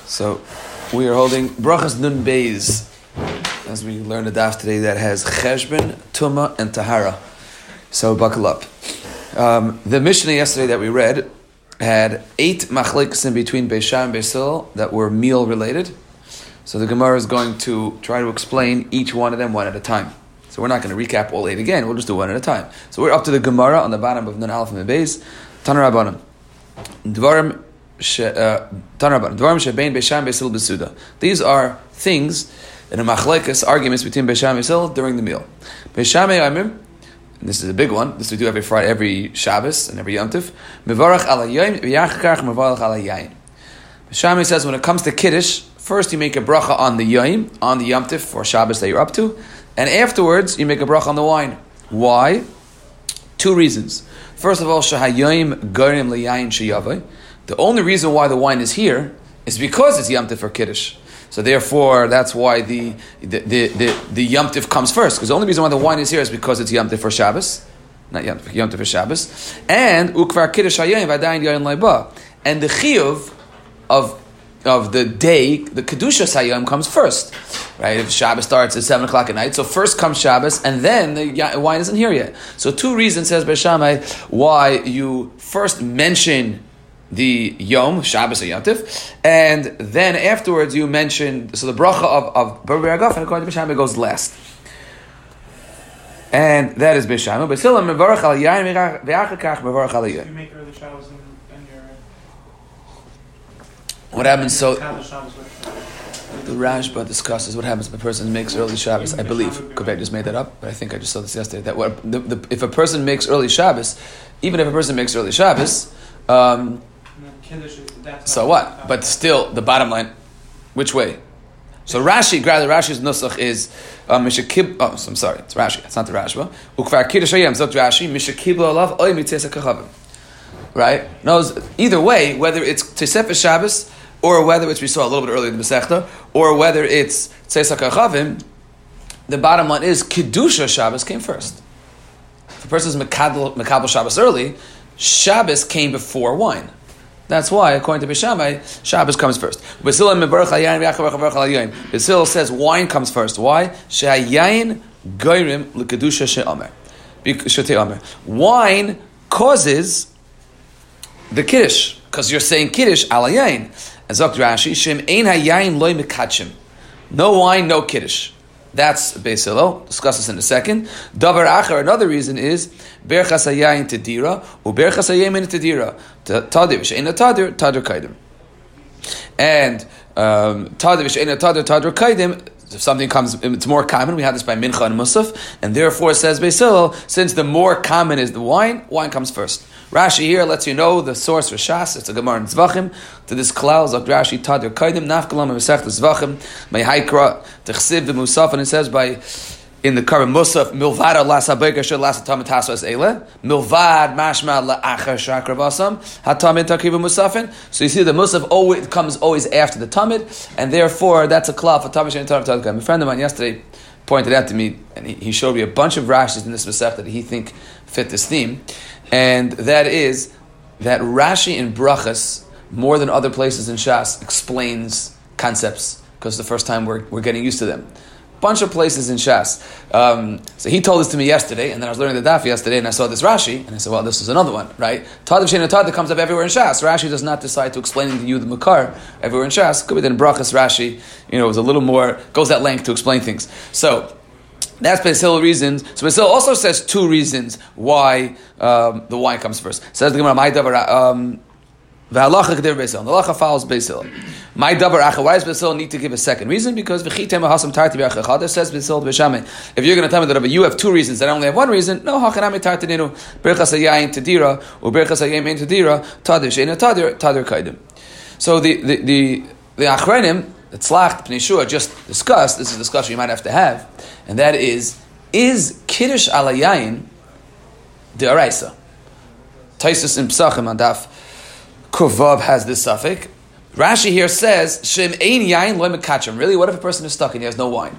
So we are holding Brachas Nun Beis, as we learned a daf today that has Cheshbon, Tumah, and Tahara. So buckle up. The Mishnah yesterday that we read had 8 machlekes in between Beis Shammai and Beis Hillel that were meal related. So the Gemara is going to try to explain each one of them one at a time. So we're not going to recap all 8 again, we'll just do one at a time. So we're up to the Gemara on the bottom of Nun Aleph and Beis. Taner Rabbanan. Dvarim shebein Beis Shammai Beis Hillel b'suda. These are things in a machlekes, arguments between Beis Shammai and Beis Hillel during the meal. Beis Shammai Amir, and this is a big one, this we do every Friday, every Shabbos and every Yom Tov. Mevarach ala yoyim v'yachakach mevarach ala yayin. Beis Shammai says when it comes to Kiddush, first you make a bracha on the yoyim, on the Yom Tov for Shabbos that you're up to, and afterwards you make a bracha on the wine. Why? 2 reasons. First of all, shahayoyim gorim liyayin sheyavai. The only reason why the wine is here is because it's Yom Tov for Kiddush. So therefore, that's why the Yom Tov comes first. Because the only reason why the wine is here is because it's Yom Tov for Shabbos. Not Yom Tov for Shabbos. And Ukvar Kiddush Hayayim Vadayin Yayin Laiba. And the Chiyuv of the day, the Kedushas Hayayim comes first. Right? If Shabbos starts at 7 o'clock at night, so first comes Shabbos, and then the wine isn't here yet. So 2 reasons, says Beis Shammai, why you first mention the Yom, Shabbos or Yom Tov, and then afterwards you mention, so the bracha of Bar Agaf, and according to Beis Shammai, goes last. And that is Beis Shammai. Beis Hillel mevarach al yayin ve'achakach mevarach al yayin. You make early Shabbos and your... What happens, so... The Rashba discusses what happens if a person makes early Shabbos. I believe, Kobe just made that up, but I think I just saw this yesterday, that if a person makes early Shabbos, even if a person makes early Shabbos, so what? But still, the bottom line, which way? So Rashi's nusach is mishakib. Oh, so I'm sorry, it's Rashi. It's not the Rashba. Ukvar kiddush hayam zot Rashi mishakib alav oy mitzesa kachavim. Right? Knows either way, whether it's Tosefes Shabbos or whether it's, we saw a little bit earlier in the Masechta, or whether it's tzesa kachavim. The bottom line is Kedusha Shabbos came first. If a person is Mekabel Shabbos early, Shabbos came before wine. That's why, according to Beis Shammai, Shabbos comes first. Beis Hillel says wine comes first. Why? Shehayayin goyrim l'kedusha she'amer. Wine causes the kiddush, because you're saying kiddush ala yayin. As Dr. Rashi, Shem ein hayayin loy mekatshim. No wine, no kiddush. That's Beis Hillel. Discuss this in a second. Davar achar, another reason is berchas hayayin tedira u berchas hayayin tedira. Tadir v'she'ena tadir kaidim. And tadir v'she'ena tadir kaidim. If something comes, it's more common. We have this by Mincha and Musaf, and therefore says Beis Hillel, since the more common is the wine comes first. Rashi here lets you know the source for Shas. It's a Gemara in Zvachim. To this klal, Zok Rashi Tadir Kaidim Nafkalam Mesech Zvachim Mehaikra Techsiv Musaf, and it says by in the current Musaf Milvad Lasa Beker Shel Lasa Tamid Hasas Eile Milvad Mashma LaAchar Shakra Vasam Hatamid Takiv Musafin. So you see the Musaf always comes after the Tamid, and therefore that's a klal for Tamid Shen Tadir Kaidim. A friend of mine yesterday pointed out to me, and he showed me a bunch of Rashis in this Masech that he think fit this theme. And that is that Rashi in Brachas, more than other places in Shas, explains concepts, because it's the first time we're getting used to them. Bunch of places in Shas. So he told this to me yesterday, and then I was learning the daf yesterday, and I saw this Rashi, and I said, well, this is another one, right? Tadav Shein Tadav comes up everywhere in Shas. Rashi does not decide to explain to you the Makar everywhere in Shas. Could be that in Brachas Rashi, was a little more, goes that length to explain things. So, that's Beis Hillel reasons. So Beis Hillel also says 2 reasons why the wine comes first. Says the Gemara, my davar v'halacha k'der Beis Hillel. The halacha follows Beis Hillel. My davar acha. Why does Beis Hillel need to give a second reason? Because v'chitem hasam tarti b'achachad. Says Beis Hillel Beis Shammai. If you're going to tell me that you have 2 reasons, and I only have 1 reason, no hachanami tarti nenu berchas hayayin tedira or berchas hayayin ein tedira tadir sheina tadir kaidim. So the achrenim, the tzlach Pnei Shua just discussed, this is a discussion you might have to have, and that is Kiddush ala yayin de'araisa? Taisus in Pesachim on Daf Kuvav has this suffix. Rashi here says, Shem ein yayin loy mekatshim. Really, what if a person is stuck and he has no wine?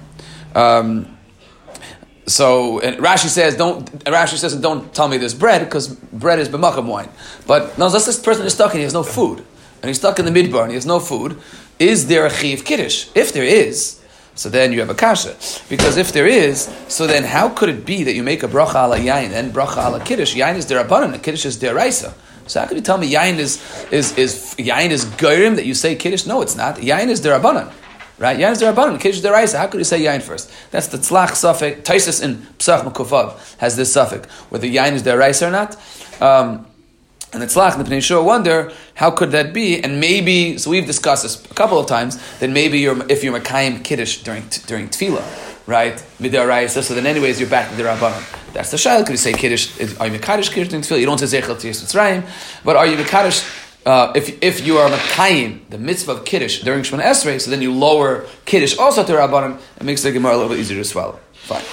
So and Rashi says, don't tell me there's bread, because bread is b'makam wine. But no, let's say this person is stuck and he has no food. And he's stuck in the midbar and he has no food. is there a chiv kiddush? If there is, so then you have a kasha. Because if there is, so then how could it be that you make a bracha ala yain and bracha ala kiddush? Yain is derabanan, and kiddush is deraisa. So how could you tell me yain is goyim that you say kiddush? No, it's not. Yain is derabanan. Right? Yain is derabanan, kiddush is deraisa. How could you say yain first? That's the tzlach suffix. Taisus in Psach Mekufav has this suffix, whether yain is deraisa or not. And the tzlach, the Pnei Yehoshua wonder, how could that be? And maybe, so we've discussed this a couple of times, then maybe if you're Makayim Kiddush during tefillah, right? Midaraisa, so then anyways you're back to the Rabbanon. That's the shayla. Could you say Kiddush, are you Mekadosh Kiddush during tefillah? You don't say Zechel Tiyas Mitzrayim, but are you Mekadosh, if you are Makayim, the mitzvah of Kiddush during Shemona Esrei, so then you lower Kiddush also to Rabbanon, it makes the Gemara a little bit easier to swallow. Fine.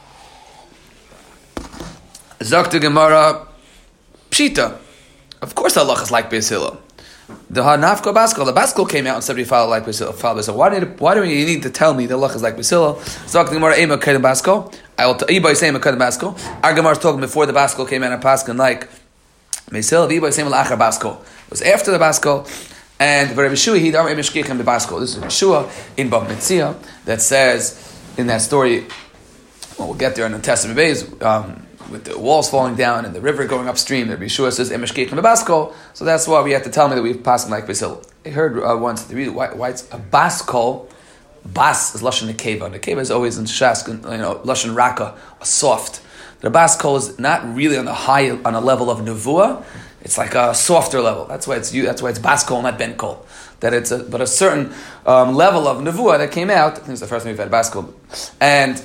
Zakta Gemara, Pshita. Of course, Allah is like Beis Hillel. The Hanafka Baskal, the Baskal came out and said we follow like Beis Hillel. Why do you need to tell me that Allah is like Beis Hillel? Zok the Gemara Ema Kedem Baskal. I will tell you by saying Kedem Baskal. Our Gemara is talking before the Baskal came out and Paskin like Beis Hillel. Iba saying Lachar Baskal. It was after the Baskal, and Rabbi Yeshua he dar Emeshkichem the Baskal. This is Yeshua in Bava Metzia that says in that story. Well, we'll get there in the Testament Bays. With the walls falling down and the river going upstream, the Yeshua says Emeshkichem the Baskal. So that's why we have to tell me that we've passed like Beis Hillel. I heard once the reason why it's a Baskal. Bas is lashon nekeva. Nekeva is always in Shas, lashon raka, a soft. The Baskal is not really on a level of nevuah. It's like a softer level. That's why it's Baskal, not Benkol. That it's but a certain level of nevuah that came out. I think it's the first time we've had Baskal, and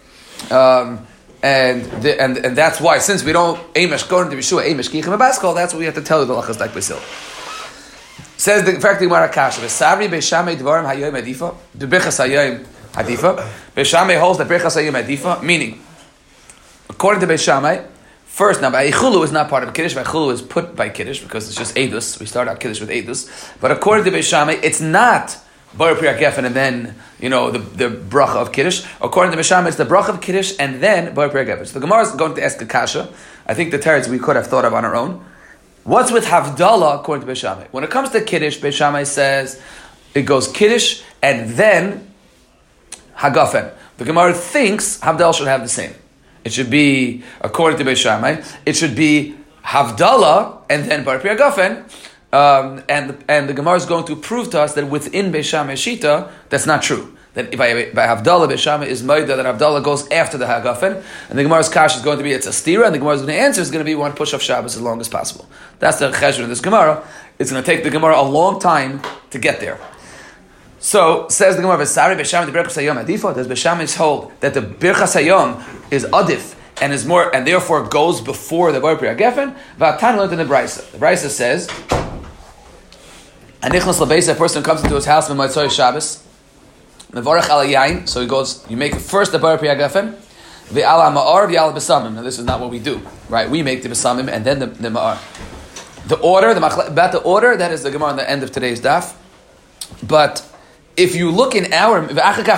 that's why, since we don't Amish go into Yeshua, Amish Kichem Baskal, that's what we have to tell you the lachas like Beis Hillel. Says the fact the Gemara Kasha, V'savri Beishamei Dvarim Hayoyim Adifa, the Birchas Hayoyim Adifa. Beishamei holds the Birchas Hayoyim Adifa, meaning, according to Beishamei, first now Eichulu is not part of Kiddush. Eichulu is put by Kiddush because it's just Eidus. We start out Kiddush with Eidus, but according to Beishamei, it's not Bar Priya Geffen and then the bracha of Kiddush. According to Beishamei, it's the bracha of Kiddush and then Bar Priya Geffen. So the Gemara is going to ask a kasha. I think the teretz we could have thought of on our own. What's with Havdalah according to Beishamei? When it comes to Kiddush, Beishamei says it goes Kiddush and then Hagafen. The Gemara thinks Havdalah should have the same. It should be, according to Beishamei, it should be Havdalah and then Bar Priya Gafen. And the Gemara is going to prove to us that within Beishamei Shita, that's not true. That by Havdalah, Beishamei is Maida, that Havdalah goes after the Hagafen. And the Gemara's Kash is going to be, it's a stira, and the Gemara's going to answer is going to be one push off Shabbos as long as possible. That's the cheshbon in this Gemara. It's going to take the Gemara a long time to get there. So, says the Gemara, V'sari Beishamei the Birchas Hayom Adifa, does Beishamei hold that the Birchas Hayom is Adif, and is more, and therefore goes before the Bar Priya Gefen? V'atan learned in the Brisa. The Brisa says, Anichnas Labeisa, a person comes into his house on Motzei Shabbos, Mevorach ala yain, so he goes, you make first the Bar Priya Gefen, Ve'ala ma'ar, ve'ala besamim. Now this is not what we do, right? We make the besamim and then the ma'ar. The order, about the order, that is the Gemara on the end of today's daf. But if you look in our, and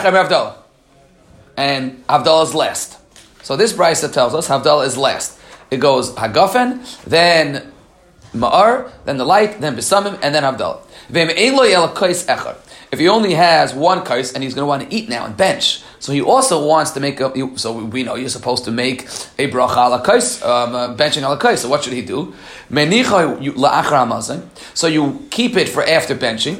Havdalah is last. So this Brisa tells us Havdalah is last. It goes Hagafen, then Ma'ar, then the light, then Besamim, and then Havdalah. If he only has one kais and he's going to want to eat now and bench, so he also wants to make so we know you're supposed to make a bracha ala kais, benching ala kais. So what should he do? So you keep it for after benching.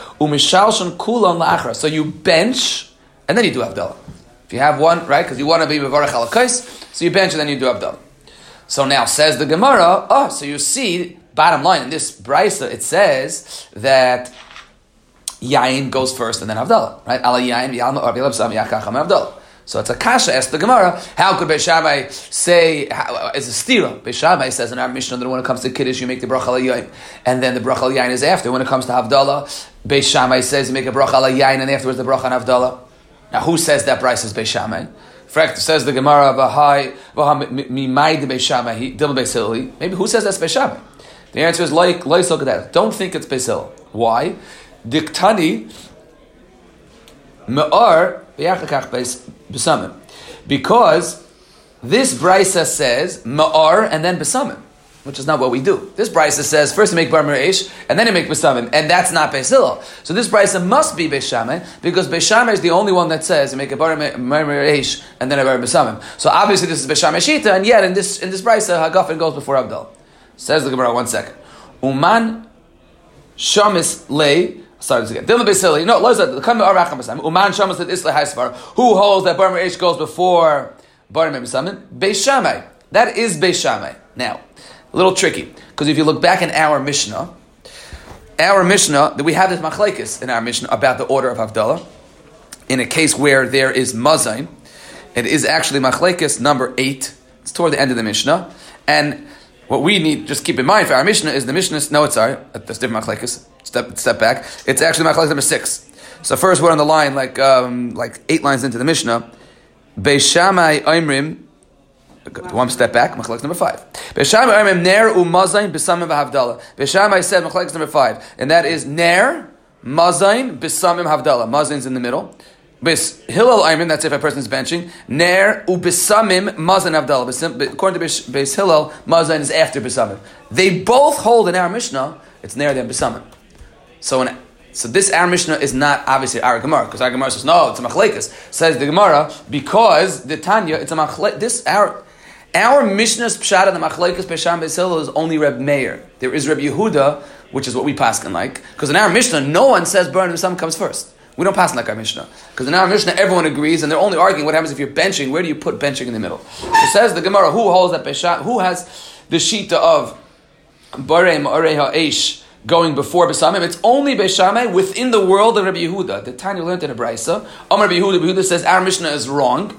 So you bench and then you do Havdalah. If you have one, right, because you want to be mevarach ala kais, so you bench and then you do Havdalah. So now says the Gemara, so you see, bottom line, in this Brisa, it says that Yain goes first and then Havdalah, right? Ala Yain, V'yalma, or V'yalabsam, Yakacham, Havdalah. So it's a kasha, asked the Gemara, how could Beishamai say, as a stira, Beishamai says in our Mishnah that when it comes to Kiddush, you make the bracha ala Yain, and then the bracha ala Yain is after. When it comes to Havdalah, Beishamai says you make a bracha ala Yain, and afterwards the bracha on Havdalah. Now who says that Brisa is Beishamai? Says the Gemara, maybe who says that's Beis Shammai? The answer is like look at that. Don't think it's Beis Hillel. Why? Diktani me'ar b'yachakach besamim. Because this Brisa says me'ar and then besamim. which is not what we do. This brisa says first you make bar mereish and then you make besamim, and that's not Beis Hillel. So this brisa must be Beis Shammai because Beis Shammai is the only one that says you make a bar mereish and then a bar besamim. So obviously this is Beis Shammai shita, and yet in this brisa hagafen goes before Havdalah. Says the Gemara, 1 second. Uman shamis lei. Sorry, this again. Dilma Beis Hillel. No, Uman shamis that isle haisvar. Who holds that bar mereish goes before bar besamim? Beis Shammai. That is Beis Shammai. Now, a little tricky, because if you look back in our Mishnah, that we have this machlekes in our Mishnah about the order of Havdalah. In a case where there is mazain, it is actually machlekes number 8. It's toward the end of the Mishnah. And what we need, just keep in mind for our Mishnah, is the Mishnah, that's different machlekes. Step back. It's actually machlekes number 6. So first we're on the line, like 8 lines into the Mishnah. Beis Shammai Oimrim. One step back, machlekes number 5. Beis Shammai Oimrim ner u'mazain b'samim v'havdalah. Beis Shammai said machlekes number 5, and that is ner, mazain, b'samim havdalah. Mazain's in the middle. Beis Hillel Oimrim, that's if a person is benching. Ner u'b'samim mazain havdalah. According to Beis Hillel, mazain is after b'samim. They both hold in our Mishnah, it's ner then b'samim. So this our Mishnah is not obviously our Gemara, because our Gemara says no, it's a machlekes. Says the Gemara because the Tanya, it's a machlekes. Our Mishnah's pshat and the machlekes Beis Shammai Beis Hillel is only Reb Meir. There is Reb Yehuda, which is what we paskin like, because in our Mishnah no one says bar besamim comes first. We don't pass like our Mishnah, because in our Mishnah everyone agrees, and they're only arguing what happens if you're benching. Where do you put benching in the middle? It says the Gemara, who holds that Beis Shammai, who has the shita of barei ma'arei ha'esh going before besamim? It's only Beis Shammai within the world of Rabbi Yehuda. The Tanya learned in a brisa. Rabbi Yehuda says our Mishnah is wrong.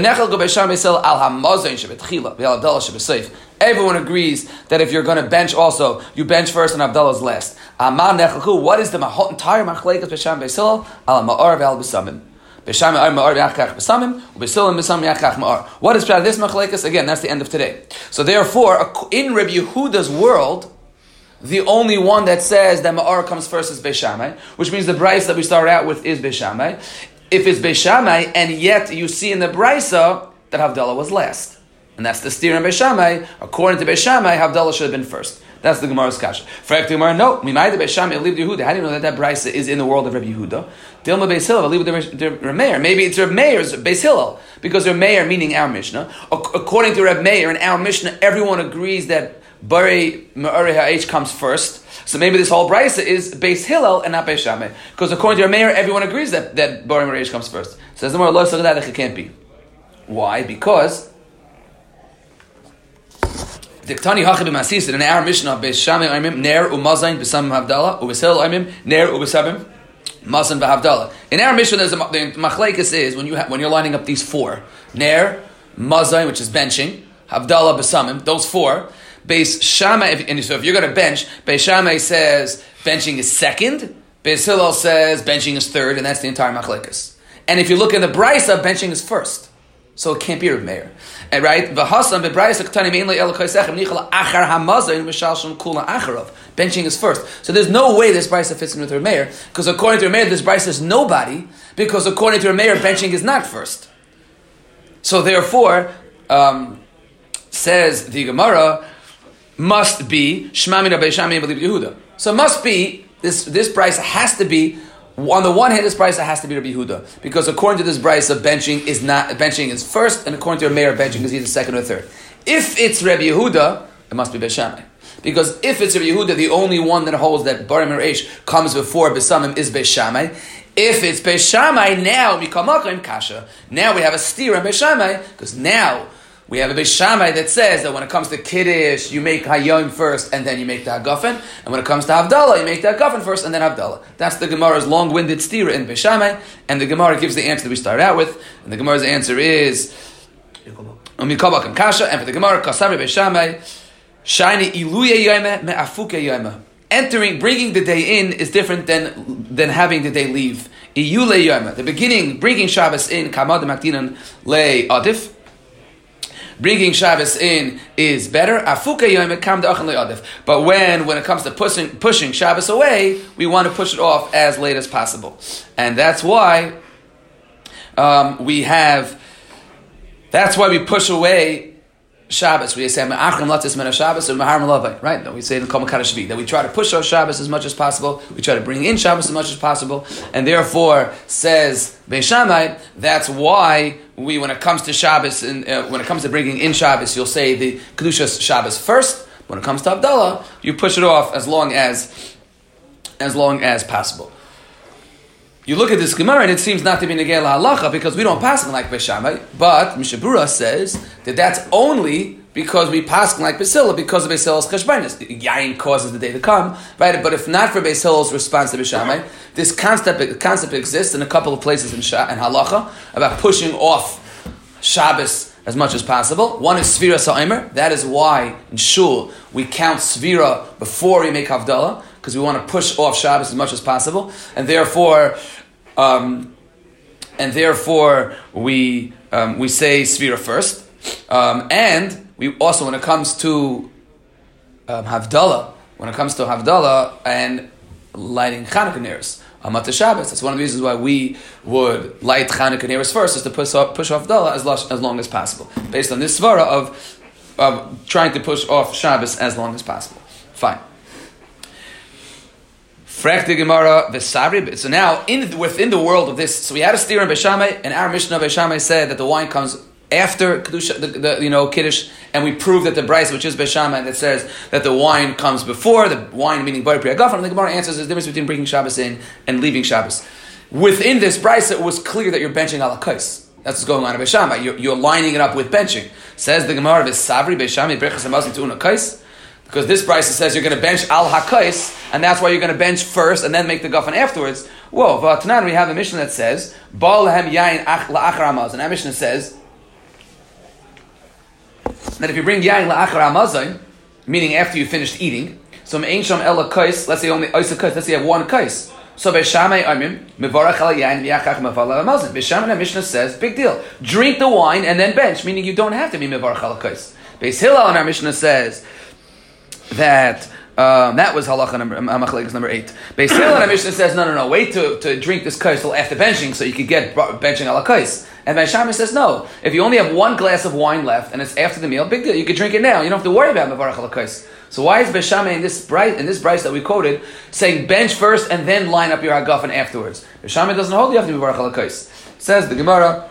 Everyone agrees that if you're going to bench also, you bench first and Havdalah's last. What is the entire machlekes Beis Shammai Beis Hillel? Al ma'ar ve'al besamim. Beis Shammai ar ma'ar ve'achach besamim, u'Beis Hillel besamim yachach ma'ar. What is this machlekes? Again, that's the end of today. So therefore, in Rabbi Yehuda's world, the only one that says that Ma'ar comes first is Beis Shammai, which means the brisa that we started out with is Beis Shammai. If it's Beis Shammai, and yet you see in the brisa that Havdalah was last. And that's the steer in Beis Shammai. According to Beis Shammai, Havdalah should have been first. That's the Gemara's kasha. For the Gemara, no. Mimai the Beis Shammai, Elib Yehuda. How do you know that brisa is in the world of Rabbi Yehuda? Dilma Beis Hillel, Elib the Reb Meir. Maybe it's Reb Meir's Beis Hillel, because Reb Meir meaning our Mishnah. According to Reb Meir in our Mishnah, everyone agrees that Barei Ma'arei Ha'esh comes first. So maybe this whole brisa is Beis Hillel and not Beis Shammai. Because according to your mayor, everyone agrees that Barei Ma'arei Ha'esh comes first. Says the more lo that it can't be. Why? Because Diktani Hachi b'Masisa in our Mishnah Beis Shammai Aimim Ner u'Mazain b'Samim Havdalah u'Beis Hillel Aimim Ner u'Besamim Mazan b'Havdalah. In our Mishnah, the machlekes is when you're lining up these 4 Ner Mazain, which is benching, Havdalah b'Samim, those 4. Beis Shammai, so if you're going to bench, Beis Shammai says benching is second, Beis Hillel says benching is third, and that's the entire machlekes. And if you look in the brisa, benching is first. So it can't be Reb Meir. And right? Benching is first. So there's no way this brisa fits in with Reb Meir, because according to Reb Meir, this brisa is nobody, because according to Reb Meir, benching is not first. So therefore, says the Gemara, must be Shema min Beis Shammai Elib Yehuda. So must be this brisa has to be, on the one hand, this brisa has to be Rabbi Yehuda, because according to this brisa, benching is first, and according to your mayor, benching is either second or third. If it's Rabbi Yehuda, it must be Beis Shammai, because if it's Rabbi Yehuda, the only one that holds that Barei Ma'arei comes before Besamim is Beis Shammai. If it's Beis Shammai, now Mikamakim Kasha. Now we have a steer in Beis Shammai, because now we have a Beis Shammai that says that when it comes to Kiddush, you make Hayom first and then you make the Hagafen. And when it comes to Havdalah, you make the Hagafen first and then Havdalah. That's the Gemara's long-winded stira in Beis Shammai. And the Gemara gives the answer that we started out with. And the Gemara's answer is Mikabakam Kasha. And for the Gemara, Kasavi Beis Shammai, Shiny Iluye Yoma Me'afuke Yoma. Bringing the day in is different than having the day leave. Iyule Yoma. The beginning, bringing Shabbos in, Kamad Makdinan Le Adif. Bringing Shabbos in is better. But when it comes to pushing Shabbos away, we want to push it off as late as possible. And that's why we push away Shabbos, we say Me'achrim Latis Mena Shabbos or Mahar Malavai, right? That we say in Kol Makar Shvi, that we try to push our Shabbos as much as possible, we try to bring in Shabbos as much as possible, and therefore, says Beis Shammai, that's why we, when it comes to Shabbos, and when it comes to bringing in Shabbos, you'll say the Kedushas Shabbos first. When it comes to Havdalah, you push it off as long as possible. You look at this Gemara and it seems not to be Negei Halacha because we don't pass like Beis Shammai, but Mishabura says that that's only because we pass like Beis Hillel because of Beis Hillel's cheshbonos. Yain causes the day to come, right? But if not for Beis Hillel's response to Beis Shammai, this concept exists in a couple of places in Halacha about pushing off Shabbos as much as possible. One is Svira Sa'imer. That is why in Shul we count Svira before we make Havdalah, because we want to push off Shabbos as much as possible, and therefore we say Svira first, and we also, when it comes to Havdalah, and lighting Chanukah neiros, Amat Shabbos, that's one of the reasons why we would light Chanukah neiros first, is to push off Havdalah as long as possible, based on this svara of trying to push off Shabbos as long as possible. Fine. Frek the Gemara v'sabri. So now, within the world of this, so we had a steer in Beis Shammai, and our Mishnah Beis Shammai said that the wine comes after Kedusha, the Kiddush, and we prove that the Bryce, which is Beis Shammai, that says that the wine comes before, the wine meaning Bar Pri Hagafen, and the Gemara answers the difference between bringing Shabbos in and leaving Shabbos. Within this Bryce, it was clear that you're benching ala kais. That's what's going on in Beis Shammai. You're lining it up with benching. Says the Gemara v'sabri Beis Shammai brechas hamazon tu'una kais. Because this Bryce says you're going to bench al hakais, and that's why you're going to bench first and then make the guffin afterwards. Whoa, v'atanan, we have a Mishnah that says ba lehem yain la'achar hamazon. And that Mishnah says that if you bring yain la'achar hamazon, meaning after you finished eating, so me'ein sham ela kais, let's say only oisa kais, let's say you have one kais. So Beis Shammai amim mevarach al yain v'yachach mevala hamazon. Beis Shammai, Mishnah says, big deal, drink the wine and then bench, meaning you don't have to be mevarach al kais. Beis Hillel in our Mishnah says that was halacha number 8. Beis Hillel and Mishnah says no, wait to drink this kais till after benching so you could get benching ala kais. And Beis Shammai says no. If you only have one glass of wine left and it's after the meal, big deal. You can drink it now. You don't have to worry about mevarach ala kais. So why is Beis Shammai in this Bryce that we quoted saying bench first and then line up your hagafen afterwards? Beis Shammai doesn't hold you have to be mevarach ala kais. Says the Gemara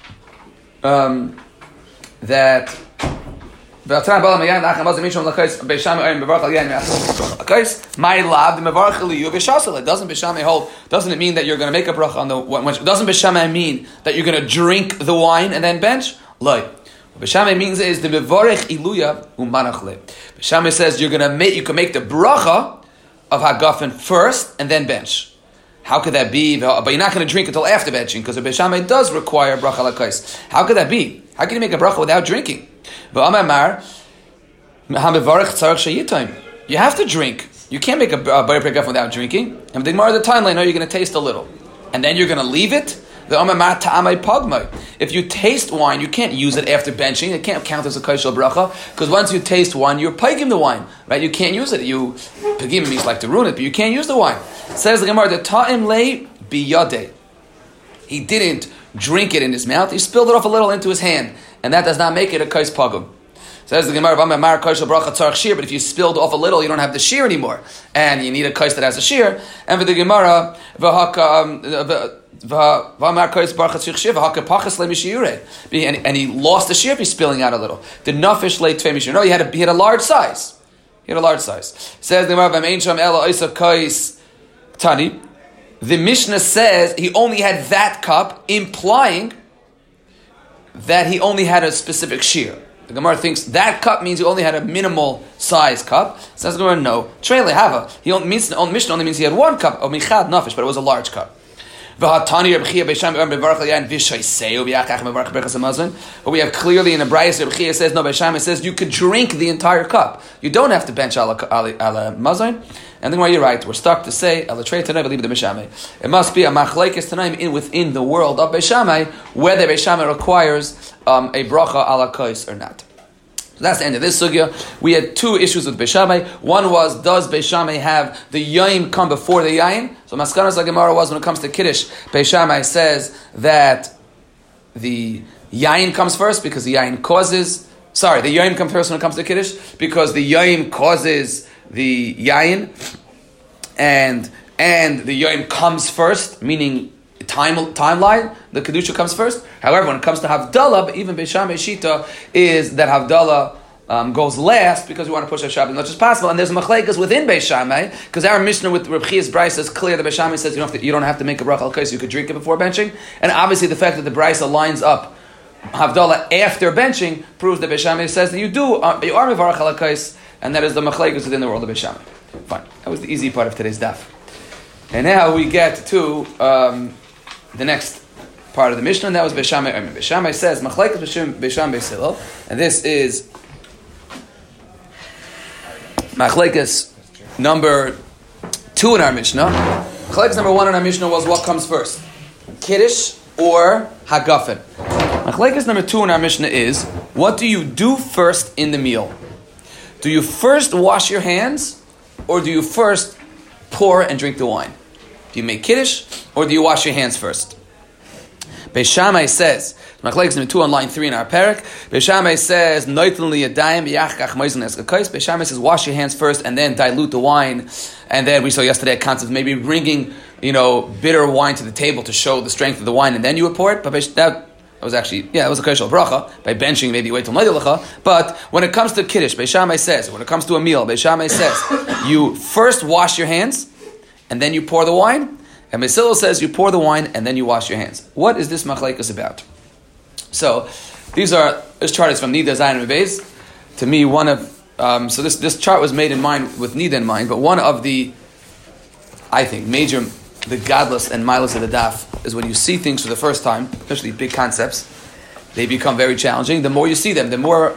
that. My love, the doesn't Beis Shammai hold? Doesn't it mean that you're going to make a bracha on the? Doesn't Beis Shammai mean that you're going to drink the wine and then bench? What Beis Shammai means is the mevarech iluya umanachle. Beis Shammai says you can make the bracha of hagafen first and then bench. How could that be? But you're not going to drink until after benching because the Beis Shammai does require bracha lakais. How could that be? How can you make a bracha without drinking? You have to drink. You can't make a Bar Pri Hagafen without drinking. And the Gemara, the timeline, you're going to taste a little, and then you're going to leave it. If you taste wine, you can't use it after benching. It can't count as a kaishal bracha because once you taste wine, you're pagim the wine, right? You can't use it. You pagim means like to ruin it, but you can't use the wine. Says the Gemara, the ta'im lei biyadeh. He didn't drink it in his mouth. He spilled it off a little into his hand, and that does not make it a kais pagum. Says the Gemara, but if you spilled off a little, you don't have the shear anymore, and you need a kais that has a shear. And for the Gemara, and he lost the shear if he's spilling out a little. The nafish lay tvei mishir. No, he had a large size. Says the Gemara, Tani. The Mishnah says he only had that cup, implying that he only had a specific shear. The Gemara thinks that cup means he only had a minimal size cup. Says the Gemara, no. Trei lehava. Mishnah only means he had one cup of michad nafish, but it was a large cup. But we have clearly in the Brayos, Reb Chia says, no, Beis Shammai says you could drink the entire cup. You don't have to bench ala mazon. And then why you're right, we're stuck to say, ala trei tanai, believe the Beis Shammai. It must be a machlekes tanaim within the world of Beis Shammai, whether Beis Shammai requires a bracha ala kais or not. So that's the end of this sugya. We had two issues with Beis Shammai. One was, does Beis Shammai have the yain come before the yain? So Maskanas Gemara was, when it comes to Kiddush, Beis Shammai says that the yain comes first because the yain causes Sorry, the yayin comes first when it comes to Kiddush, because the yayin causes the yayin, and the yayin comes first, meaning timeline, the Kedusha comes first. However, when it comes to Havdalah, even Beis Shammai Shita is that Havdalah goes last, because we want to push Shabbat as much as possible. And there's a machlekes within Beis Shammai, because our Mishnah with Reb Chia's Brisa is clear. The Beis Shammai says you don't have to make a bracha al kais, you could drink it before benching. And obviously the fact that the Brisa lines up Havdalah after benching proves that Beis Shammai says that you are mevarach al kais, and that is the machlekes within the world of Beis Shammai. Fine. That was the easy part of today's daf. And now we get to the next part of the Mishnah, and that was Beis Shammai. Beis Shammai says machlekes Beis Shammai Beis Hillel, and this is machlekes number 2 in our Mishnah. Machlekes number 1 in our Mishnah was what comes first, Kiddush or Hagafen. Machlekes number 2 in our Mishnah is, what do you do first in the meal? Do you first wash your hands, or do you first pour and drink the wine? Do you make Kiddush, or do you wash your hands first? Beis Shammai says, Machlekes number 2 on line 3 in our parak, Beis Shammai says, Beis Shammai says, wash your hands first and then dilute the wine. And then we saw yesterday a concept of maybe bringing, bitter wine to the table to show the strength of the wine, and then you would pour it. But that was actually, it was a kashal bracha. By benching, maybe wait till Maydalacha. But when it comes to Kiddush, Beis Shammai says, when it comes to a meal, Beis Shammai says, you first wash your hands and then you pour the wine. And Beis Hillel says, you pour the wine and then you wash your hands. What is this machlekes about? So, this chart is from Nida Zayin Beis. To me, one of, this chart was made in mind, with Nida in mind, but one of the, I think, the godless and mindless of the daf is when you see things for the first time, especially big concepts, they become very challenging. The more you see them, the more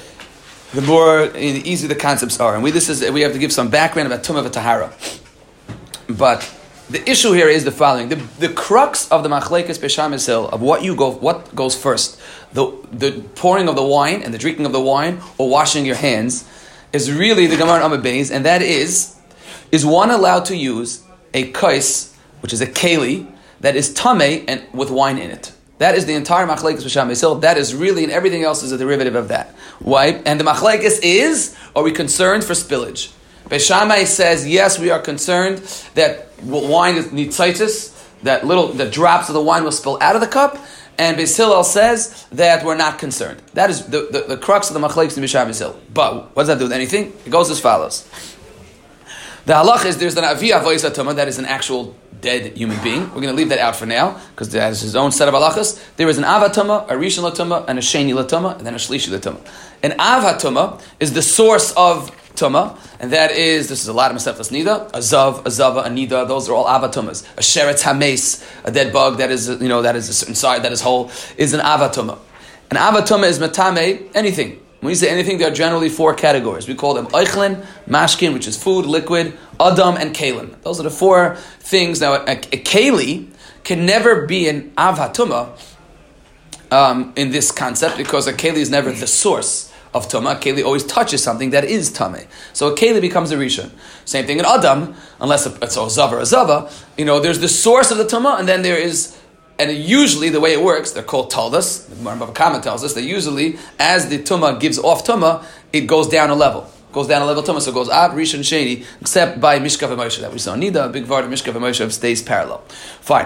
easy the concepts are. And we have to give some background about Tumah v'Tahara. But the issue here is the following: the crux of the machlekes Beis Shammai Beis Hillel of what goes first, the pouring of the wine and the drinking of the wine, or washing your hands, is really the Gemara in Amud Beis, and that is one allowed to use a kais, which is a keli that is tamei and with wine in it? That is the entire machlekes Beis Shammai Beis Hillel. That is really, and everything else is a derivative of that. Why? And the machlekes is: are we concerned for spillage? Beis Shammai says, yes, we are concerned that wine is nitzaitis, that the drops of the wine will spill out of the cup, and Beis Hillel says that we're not concerned. That is the crux of the machlekes in Beis Shammai Beis Hillel. But what does that do with anything? It goes as follows. The halach is there's an avi avois tumah, that is an actual dead human being. We're going to leave that out for now, because that is his own set of halachas. There is an av tumah, a rishon tumah, and a sheni tumah, and then a shlishi tumah. An av tumah is the source of Tumah, and that is, this is a lot of Masechtas Nida, a zav, a zava, a nida, those are all avatumas. A sheretz hames, a dead bug that is a certain side, that is whole, is an avatuma. An avatuma is metame, anything. When you say anything, there are generally 4 categories. We call them eichlin, mashkin, which is food, liquid, adam, and kalim. Those are the 4 things. Now, a keli can never be an avatuma in this concept, because a keli is never the source of Tumah. Keli always touches something that is Tameh. So a Keli becomes a Rishon. Same thing in Adam, unless it's a Zav or a Zava. There's the source of the Tumah, and then there is, and usually the way it works, they're called Taldas. The Gemara Bava Kama tells us that usually, as the Tumah gives off Tumah, it goes down a level. Tumah, so it goes Ab, Rishon, Sheni, except by Mishkav and Moshe that we saw. Nida, a big part of Mishkav and Moshe stays parallel. Fine.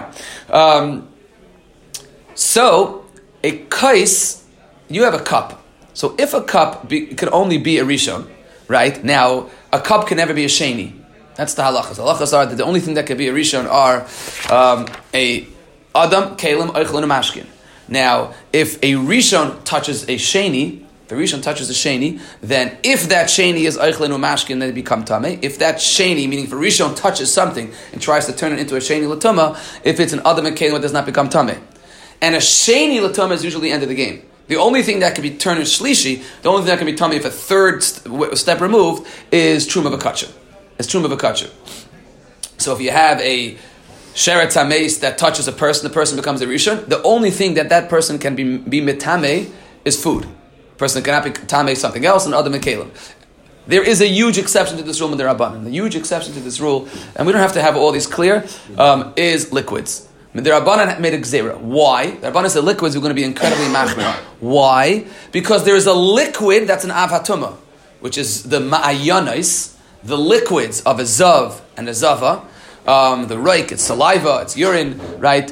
So, a kais, you have a cup. So if a cup can only be a rishon, right? Now, a cup can never be a sheni. That's the halachas. The halachas are that the only thing that can be a rishon are a adam, kalim, eichlin, and mashkin. Now, if a rishon touches a sheni, then if that sheni is eichlin or mashkin, then it becomes tameh. If that sheni, meaning if a rishon touches something and tries to turn it into a sheni latuma, if it's an adam and kalim, it does not become tameh. And a sheni latuma is usually the end of the game. The only thing that can be turned into shlishi, the only thing that can be tummy if a third step removed, is truma v'kachur. It's truma v'kachur. So if you have a sheretz hameis that touches a person, the person becomes a rishon. The only thing that person can be mitame is food. A person cannot be tame something else, and other mekalim. There is a huge exception to this rule in the Rabbanan. The huge exception to this rule, and we don't have to have all these clear, is liquids. The Rabbanan made a gzera. Why? The Rabbanan said liquids are going to be incredibly machmir. Why? Because there is a liquid that's an av hatuma, which is the ma'ayanis, the liquids of a zav and a zava. The reik, it's saliva, it's urine, right?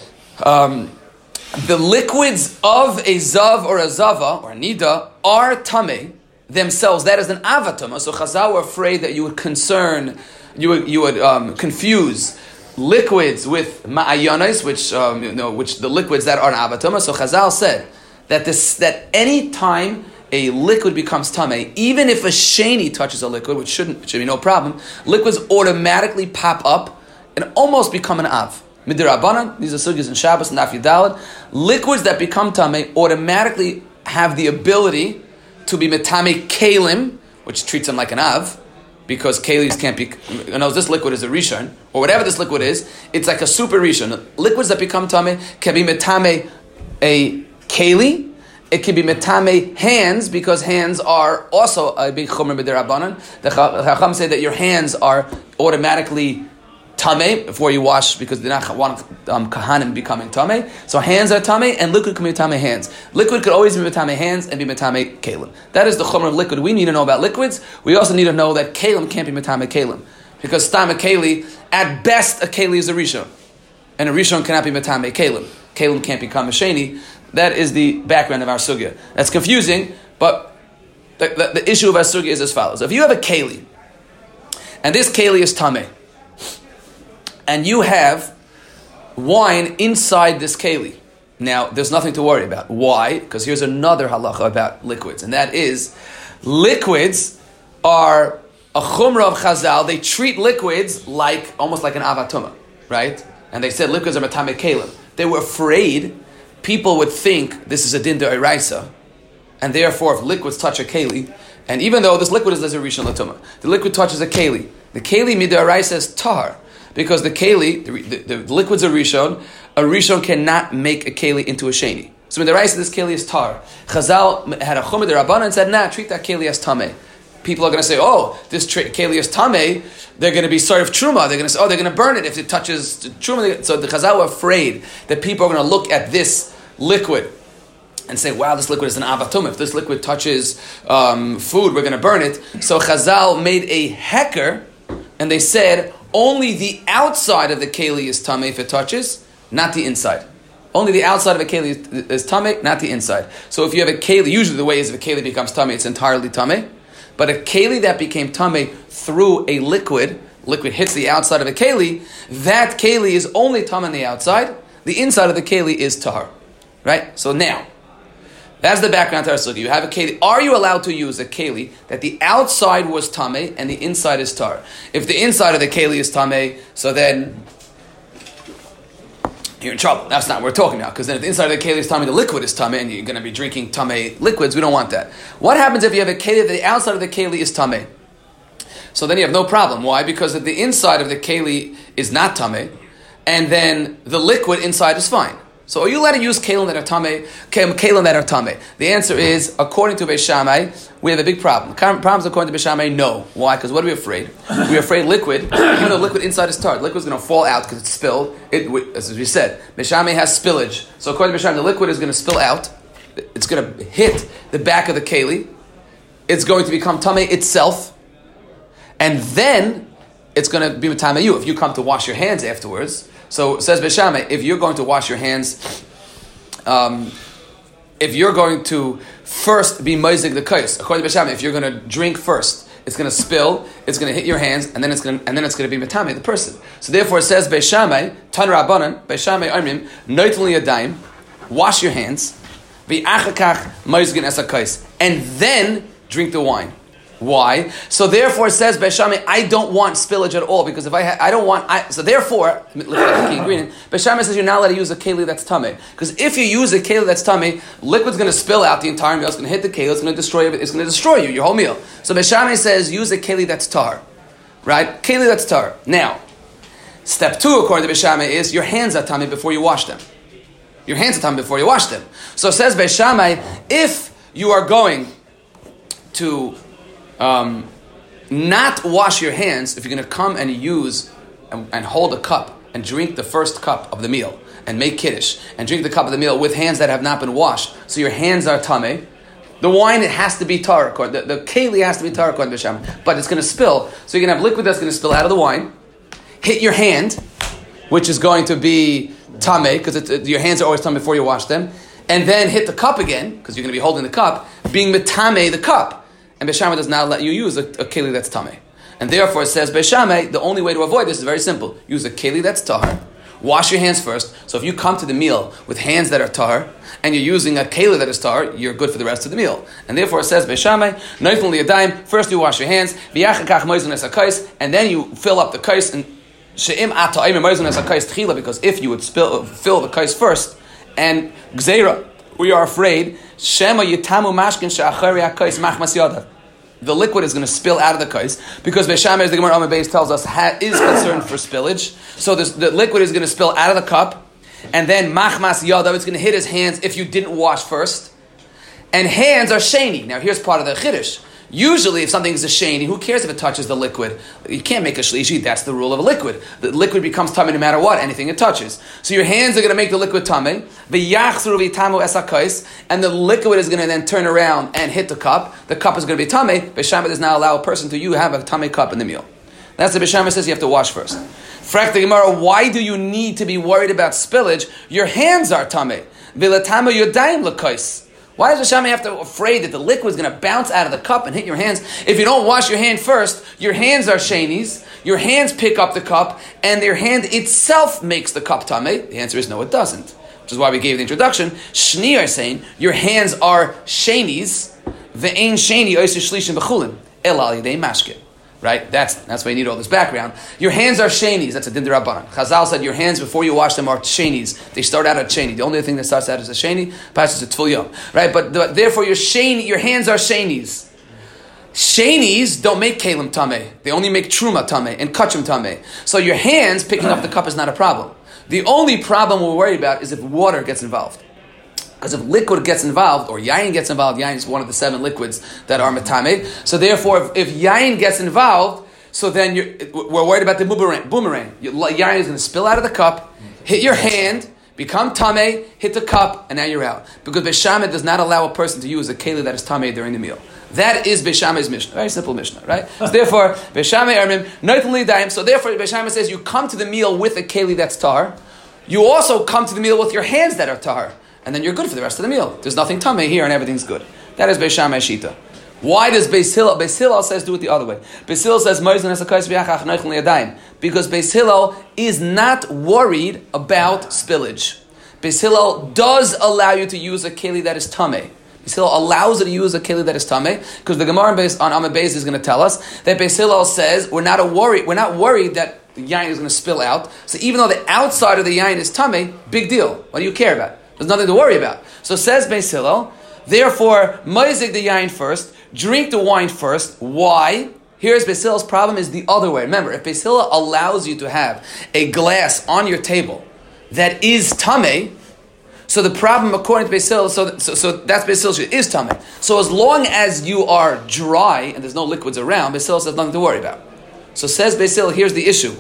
The liquids of a zav or a zava or a nida are tameh themselves. That is an avatuma. So Chazal were afraid that you would confuse liquids with ma'ayanis, which the liquids that are an avatuma. So Chazal said that any time a liquid becomes tameh, even if a sheni touches a liquid, which should be no problem, liquids automatically pop up and almost become an av. Midirabanan, these are sugyas in Shabbos and Daf Yudalad. Liquids that become tameh automatically have the ability to be metame kalim, which treats them like an av, because kalis can't be. This liquid is a rishon, or whatever this liquid is. It's like a super rishon. Liquids that become tameh can be metame a keli. It can be metame hands, because hands are also a big chomer midirabanan. The Chacham say that your hands are automatically tameh before you wash, because they're not want kahanim becoming tameh. So hands are tameh, and liquid can be tameh hands. Liquid could always be metame hands and be metame kalim. That is the chomer of liquid. We need to know about liquids. We also need to know that kalim can't be metame kalim, because stam a keli, at best a keli is a rishon, and a rishon cannot be metame kalim. Kalim can't become a sheni. That is the background of our sugya. That's confusing, but the issue of our sugya is as follows. If you have a keli, and this keli is tameh, and you have wine inside this keli, now there's nothing to worry about. Why? Because here's another halacha about liquids, and that is, liquids are a chumrah of Chazal. They treat liquids almost like an avatuma, right? And they said liquids are metame kalim. They were afraid people would think this is a din d'oraisa, and therefore if liquids touch a keli, and even though this liquid is a rishon latuma, the liquid touches a keli. The keli mid'oraisa is tahar, because the keli, the liquid's a rishon cannot make a keli into a sheni. So mid'oraisa, this keli is tahar. Chazal had a chumah d'Rabbanan and said, treat that keli as tameh. People are going to say, this keli is tameh. They're going to be sort of truma. They're going to say, they're going to burn it if it touches truma. So the Chazal were afraid that people are going to look at this liquid and say, wow, this liquid is an avatum. If this liquid touches food, we're going to burn it. So Chazal made a heker, and they said, only the outside of the keli is tameh if it touches, not the inside. Only the outside of a keli is tameh, not the inside. So if you have a keli, usually the way is if a keli becomes tameh, it's entirely tameh. But a keli that became tameh through a liquid hits the outside of a keli, that keli is only tameh on the outside. The inside of the keli is tahar. Right? So now, that's the background to our sugya. You have a keli. Are you allowed to use a keli that the outside was tameh and the inside is tahar? If the inside of the keli is tameh, so then you're in trouble. That's not what we're talking about. Because then if the inside of the keli is tameh, the liquid is tameh, and you're going to be drinking tameh liquids. We don't want that. What happens if you have a keli that the outside of the keli is tameh? So then you have no problem. Why? Because if the inside of the keli is not tameh, and then the liquid inside is fine. So are you allowed to use kelim that are tameh? The answer is, according to Beis Shammai, we have a big problem. Problems according to Beis Shammai, no. Why? Because what are we afraid? We're afraid liquid, even though liquid inside is tart, liquid's going to fall out because it's spilled. As we said, Beis Shammai has spillage. So according to Beis Shammai, the liquid is going to spill out. It's going to hit the back of the keli. It's going to become tameh itself. And then it's going to be tameh you if you come to wash your hands afterwards. So says Beis Shammai, if you're going to wash your hands, if you're going to first be moizig the kais, according to Beis Shammai, if you're going to drink first, it's going to spill, it's going to hit your hands, and then it's going to be metame the person. So therefore, it says Beis Shammai, Tan Rabbanan, Beis Shammai Amrim, noitel yadayim, wash your hands, v'achakach moizigin es hakais, and then drink the wine. Why? So therefore, it says Beis Shammai, I don't want spillage at all, because if so therefore, Beis Shammai says you're not allowed to use a keli that's tameh, because if you use a keli that's tameh, liquid's going to spill out the entire meal. It's going to hit the keli. It's going to destroy it. It's going to destroy you, your whole meal. So Beis Shammai says use a keli that's tar, right? Keli that's tar. Now, step 2 according to Beis Shammai is your hands are tameh before you wash them. Your hands are tameh before you wash them. So it says Beis Shammai, if you are going to not wash your hands, if you're going to come and use and hold a cup and drink the first cup of the meal and make kiddush and drink the cup of the meal with hands that have not been washed, so your hands are tameh, the wine, it has to be tar, the keli has to be tar, but it's going to spill. So you're going to have liquid that's going to spill out of the wine, hit your hand, which is going to be tameh, because your hands are always tameh before you wash them, and then hit the cup again, because you're going to be holding the cup, being metameh the cup. And Beis Shammai does not let you use a keli that's tameh. And therefore it says, Beis Shammai, the only way to avoid this is very simple. Use a keli that's tahar, wash your hands first. So if you come to the meal with hands that are tahar, and you're using a keli that is tahar, you're good for the rest of the meal. And therefore it says, Beis Shammai, noifun liyadayim, first you wash your hands, and then you fill up the kais, and because if you would fill the kais first, and gzeira, we are afraid, shema yitamu mashkin she'achari hakais machmas yadav. The liquid is going to spill out of the kais, because Beis Shammai, as the Gemara Amar Beis tells us, is concerned for spillage. So the liquid is going to spill out of the cup, and then machmas yadav, it's going to hit his hands if you didn't wash first. And hands are sheni. Now here's part of the chiddush. Usually, if something is a sheni, who cares if it touches the liquid? You can't make a shlishi. That's the rule of a liquid. The liquid becomes tamei no matter what, anything it touches. So your hands are going to make the liquid tamei. And the liquid is going to then turn around and hit the cup. The cup is going to be tamei. Beis Shammai does not allow a person to have a tamei cup in the meal. That's what Beis Shammai says you have to wash first. Frak the Gemara, why do you need to be worried about spillage? Your hands are tamei. V'latama yodayim l'kais. Why does Beis Shammai have to be afraid that the liquid is going to bounce out of the cup and hit your hands? If you don't wash your hand first, your hands are shenis, your hands pick up the cup, and their hand itself makes the cup tameh. The answer is no, it doesn't. Which is why we gave the introduction. Shni are saying, your hands are shenis, ve'ein sheni oisir shlishim b'chulin, el al yidei mashke. Right? That's why you need all this background. Your hands are shenis. That's a din d'Rabbanan. Chazal said your hands before you wash them are shenis. They start out at sheni. The only thing that starts out as a sheni, passes a tfil yom. Right? But therefore your hands are shenis. Shenis don't make kalim tameh. They only make truma tameh and kachim tameh. So your hands picking up the cup is not a problem. The only problem we're worried about is if water gets involved. Because if liquid gets involved, or yayin gets involved, yayin is one of the 7 liquids that are metameh. So therefore, if yayin gets involved, so then we're worried about the boomerang. Yayin is going to spill out of the cup, hit your hand, become tameh, hit the cup, and now you're out. Because Beis Shammai does not allow a person to use a keli that is tameh during the meal. That is Beis Shammai's Mishnah. Very simple Mishnah, right? So therefore, Beis Shammai armim noitli daim. So therefore, Beis Shammai says you come to the meal with a keli that's tar. You also come to the meal with your hands that are tar. And then you're good for the rest of the meal. There's nothing tameh here and everything's good. That is Beis Shammai Shita. Why does Beis Hillel? Beis Hillel says do it the other way. Beis Hillel says because Beis Hillel is not worried about spillage. Beis Hillel does allow you to use a keli that is tameh. Beis Hillel allows you to use a keli that is tameh, because the Gemara on Amud Beis is going to tell us that Beis Hillel says we're not worried that the yain is going to spill out. So even though the outside of the yain is tameh, big deal. What do you care about? There's nothing to worry about. So says Beis Hillel, therefore, ma'izig the yain first, drink the wine first. Why? Here's Beis Hillel's problem is the other way. Remember, if Beis Hillel allows you to have a glass on your table that is tameh, so the problem according to Beis Hillel, so that's Beis Hillel is tameh. So as long as you are dry and there's no liquids around, Beis Hillel says nothing to worry about. So says Beis Hillel, here's the issue.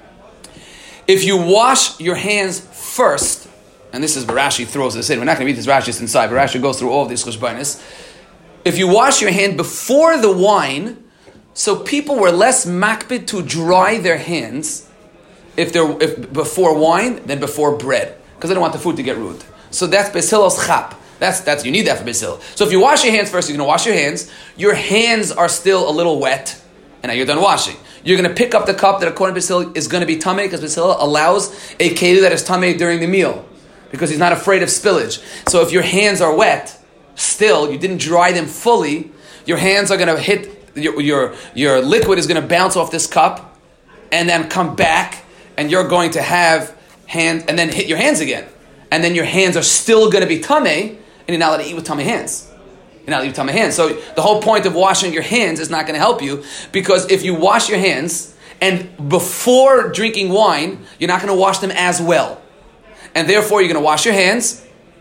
If you wash your hands first, and this is where Rashi throws this in. We're not going to read this Rashi, it's inside, but Rashi goes through all of these chushbainis. If you wash your hand before the wine, so people were less makbid to dry their hands if before wine than before bread, because they don't want the food to get ruined. So that's Beis Hillel's chap. That's you need that for Beis Hillel. So if you wash your hands first, you're going to wash your hands. Your hands are still a little wet, and now you're done washing. You're going to pick up the cup that according to Beis Hillel is going to be tameh, because Beis Hillel allows a keli that is tameh during the meal, because he's not afraid of spillage. So if your hands are wet, still, you didn't dry them fully, your hands are going to hit, your liquid is going to bounce off this cup, and then come back, and you're going to have and then hit your hands again. And then your hands are still going to be tameh, and you're not allowed to eat with tameh hands. You're not allowed to eat with tameh hands. So the whole point of washing your hands is not going to help you, because if you wash your hands, and before drinking wine, you're not going to wash them as well. And therefore, you're going to wash your hands.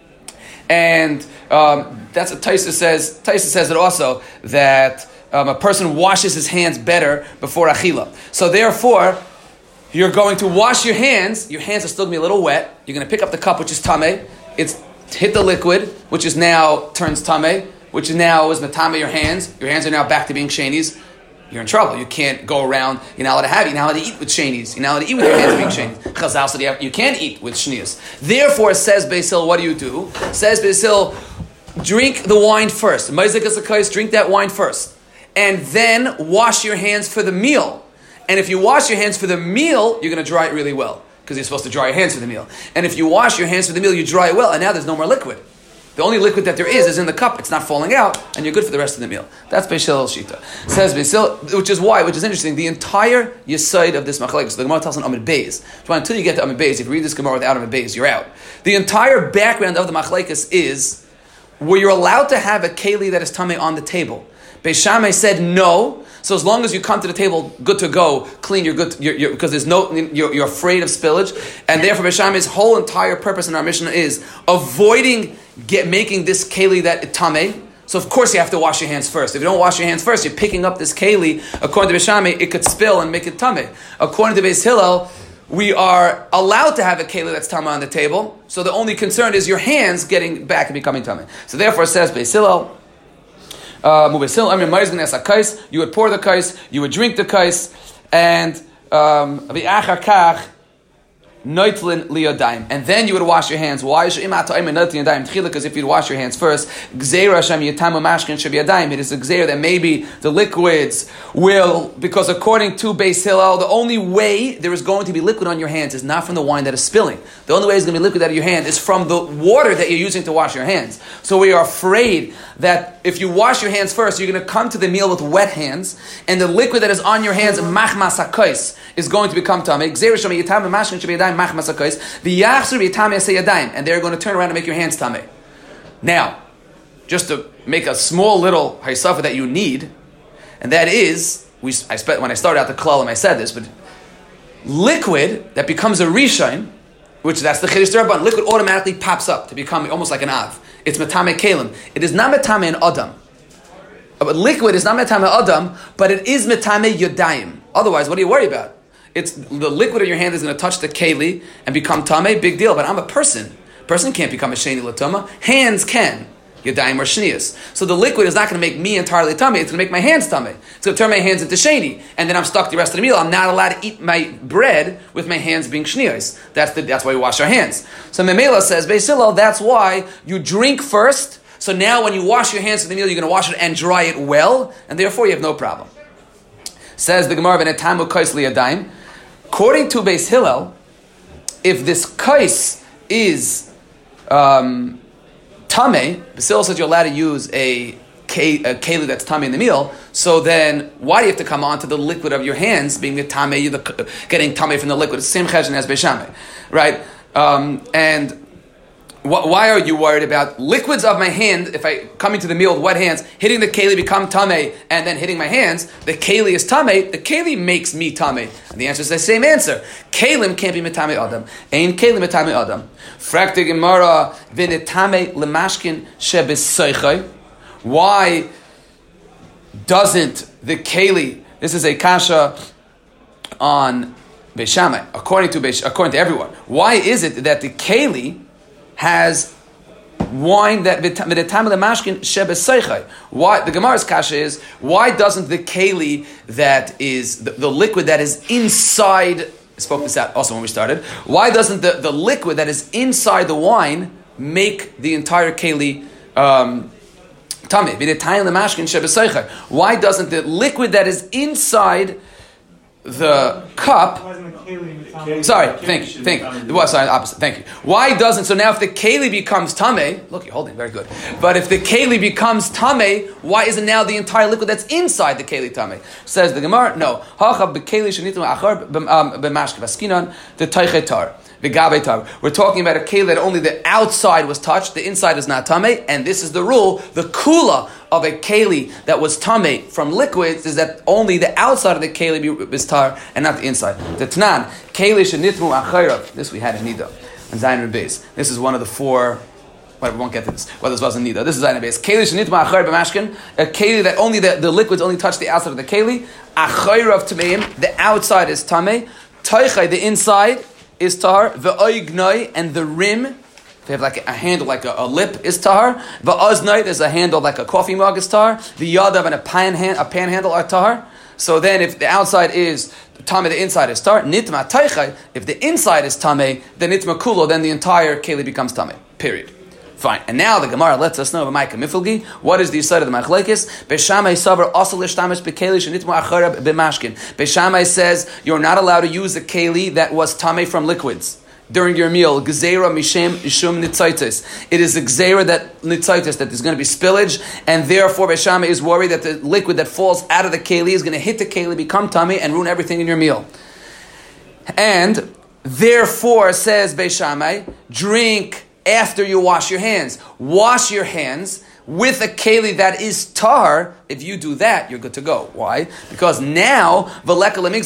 And that's what Taisa says. Taisa says it also, that a person washes his hands better before achila. So therefore, you're going to wash your hands. Your hands are still going to be a little wet. You're going to pick up the cup, which is tameh. It's hit the liquid, which is now turns tameh, which is now is matame your hands. Your hands are now back to being shanies. You're in trouble. You can't go around. You're not allowed to have it. You're not allowed to eat with shanies. You're not allowed to eat with your hands being shanies. Chazal said you can't eat with shnias. Therefore, says Beis Hillel, what do? Says Beis Hillel, drink the wine first. Drink that wine first. And then wash your hands for the meal. And if you wash your hands for the meal, you're going to dry it really well. Because you're supposed to dry your hands for the meal. And if you wash your hands for the meal, you dry it well. And now there's no more liquid. The only liquid that there is in the cup. It's not falling out, and you're good for the rest of the meal. That's Beis Hillel's shita. Says Beis Hillel, which is interesting. The entire yesod of this machlekes, the Gemara tells on Amud Beis. Until you get to Amud Beis, if you read this Gemara without Amud Beis, you're out. The entire background of the machlekes is where you're allowed to have a keli that is tamei on the table. Beis Shammai said no. So as long as you come to the table, good to go, clean, you're good, because you're afraid of spillage, and therefore Beis Shammai's whole entire purpose in our Mishnah is avoiding making this keli that tamei. So of course you have to wash your hands first. If you don't wash your hands first, you're picking up this keli. According to Beis Shammai, it could spill and make it tamei. According to Beis Hillel, we are allowed to have a keli that's tamei on the table. So the only concern is your hands getting back and becoming tamei. So therefore, it says Beis Hillel. You would pour the kais, you would drink the kais, and and then you would wash your hands. Why? Because if you'd wash your hands first, it is a gzeira that maybe the liquids will, because according to Beis Hillel, the only way there is going to be liquid on your hands is not from the wine that is spilling. The only way it's going to be liquid out of your hand is from the water that you're using to wash your hands. So we are afraid that if you wash your hands first, you're going to come to the meal with wet hands, and the liquid that is on your hands, machmas hakos, is going to become tamei. And they're going to turn around and make your hands tamei. Now, just to make a small little haysafa that you need, and that is, when I started out the klalim, I said this, but liquid that becomes a rishon, which that's the chiddush d'Rabbanan, liquid automatically pops up to become almost like an av. It's metame kelim. It is not metame an adam. But liquid is not metame adam, but it is metame yodayim. Otherwise, what do you worry about? It's the liquid in your hand is going to touch the keli and become tamei, big deal. But I'm a person. Person can't become a sheni l'tuma. Hands can. Yadayim or shnias. So the liquid is not going to make me entirely tamei. It's going to make my hands tamei. It's going to turn my hands into sheni, and then I'm stuck the rest of the meal. I'm not allowed to eat my bread with my hands being shnias. That's why we wash our hands. So Memela says, Beis Hillel, that's why you drink first. So now when you wash your hands for the meal, you're going to wash it and dry it well, and therefore you have no problem. Says the Gemara, "V'netamu kais liyadayim." According to Beis Hillel, if this kais is tamei, Beis Hillel says you're allowed to use a keli that's tamei in the meal. So then, why do you have to come on to the liquid of your hands being the tamei, getting tamei from the liquid? It's the same cheshbon as Beis Shammai, right? And why are you worried about liquids of my hand? If I come into the meal with wet hands, hitting the keli become tamei, and then hitting my hands, the keli is tamei. The keli makes me tamei, and the answer is the same answer. Kelim can't be metame adam. Ein kelim metame adam. Frakte Gemara v'netame lemashkin shebeseichai. Why doesn't the keli? This is a kasha on Beis Shammai, according to everyone. Why is it that the keli has wine that v'netam lemashkin shebeseichai? Why the Gemara's kasha is, why doesn't the keli that is the liquid that is inside? I spoke this out also when we started. Why doesn't the liquid that is inside the wine make the entire keli tamei? V'netam lemashkin shebeseichai. Why doesn't the liquid that is inside the cup? Sorry, thank you. Well, sorry, opposite. Thank you. Why doesn't? So now, if the keli becomes tamei, look, you're holding very good. But if the keli becomes tamei, why isn't now the entire liquid that's inside the keli tamei? Says the Gemara, no. Hacha b'keli shenitim achar b'mashke v'skinan the teichetar. We're talking about a keli that only the outside was touched, the inside is not tamei, and this is the rule. The kula of a keli that was tamei from liquids is that only the outside of the keli is tar and not the inside. The Tanan, keli shenitmu achayrav. This we had in Nida and Zayin Rebeis. This is one of the four. Well, we won't get to this. Well, this wasn't Nida. This is Zayin Rebeis. Keli shenitmu achayrav b'mashkin. A keli that only the liquids only touch the outside of the keli. Achayrav tameim. The outside is tamei. Taichai, the inside is tahar. Ve'oignoi, and the rim, they have like a handle, like a lip, is tahar. Ve'oznoi, there's a handle like a coffee mug, is tahar. The yadav and a pan handle are tahar. So then, if the outside is tameh, the inside is tahar. Nitma taichai, if the inside is tameh, then nitma kulo, then the entire keli becomes tameh. Period. Fine. And now the Gemara lets us know what is the side of the machlekes. Beishamai savar asal ishtamish bekeli shenitma acharab b'mashkin. Beishamai says you're not allowed to use a keli that was tameh from liquids during your meal. Gzeira mishem ishum nitzaitis. It is a gzeira that nitzaitis, that there's going to be spillage, and therefore Beishamai is worried that the liquid that falls out of the keli is going to hit the keli, become tameh, and ruin everything in your meal. And therefore, says Beishamai, drink after you wash your hands. Wash your hands with a keli that is tahar. If you do that, you're good to go. Why? Because now, now there's no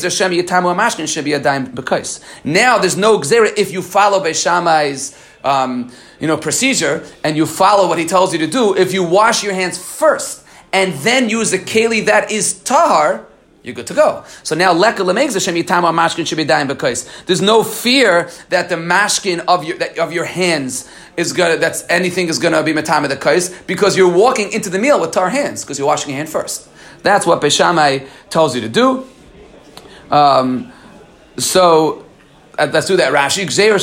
gzera if you follow Beishamai's procedure, and you follow what he tells you to do. If you wash your hands first and then use a keli that is tahar, you're good to go. So now, there's no fear that the mashkin of your hands is anything is gonna be matama the kais, because you're walking into the meal with tar hands, because you're washing your hand first. That's what Beishamai tells you to do. So let's do that. Rashi,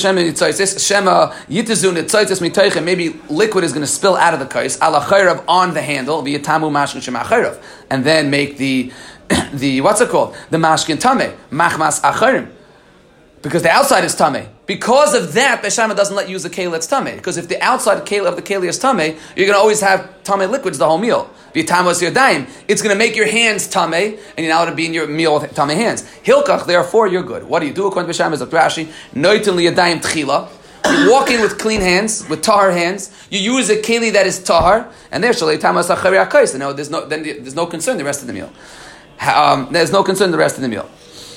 maybe liquid is going to spill out of the kais on the handle, and then make the what's it called? The mashkin tameh, machmas acharim. Because the outside is tameh. Because of that, Beishamai doesn't let you use a keli that's tameh. Because if the outside of the keli is tameh, you're going to always have tameh liquids the whole meal. It's going to make your hands tameh, and you're not allowed to be in your meal with tameh hands. Hilkach, therefore, you're good. What do you do according to Beishamai? Rashi, noitin liyadayim tchila. You walk in with clean hands, with tahar hands. You use a keli that is tahar, and there's no concern the rest of the meal. There's no concern the rest of the meal.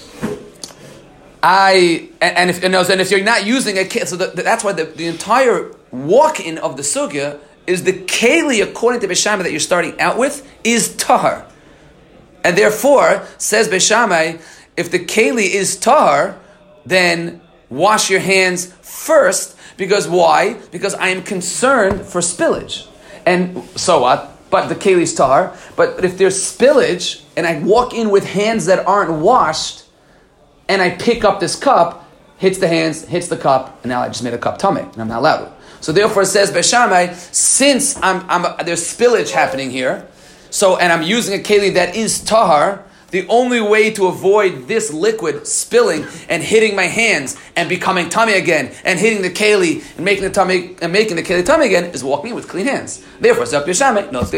If you're not using a keli, so that's why the entire walk-in of the sugya is the keli, according to Beishamai, that you're starting out with, is tahar. And therefore, says Beishamai, if the keli is tahar, then wash your hands first. Because why? Because I am concerned for spillage. And so what? But the keli is tahar. But if there's spillage, and I walk in with hands that aren't washed, and I pick up this cup, hits the hands, hits the cup, and now I just made a cup tameh, and I'm not allowed to. So therefore, it says Beishamai, since there's spillage happening here, and I'm using a keli that is tahar, the only way to avoid this liquid spilling and hitting my hands and becoming tameh again, and hitting the keli and making the keli tameh again, is walking in with clean hands. Therefore, Zok Beishamai, no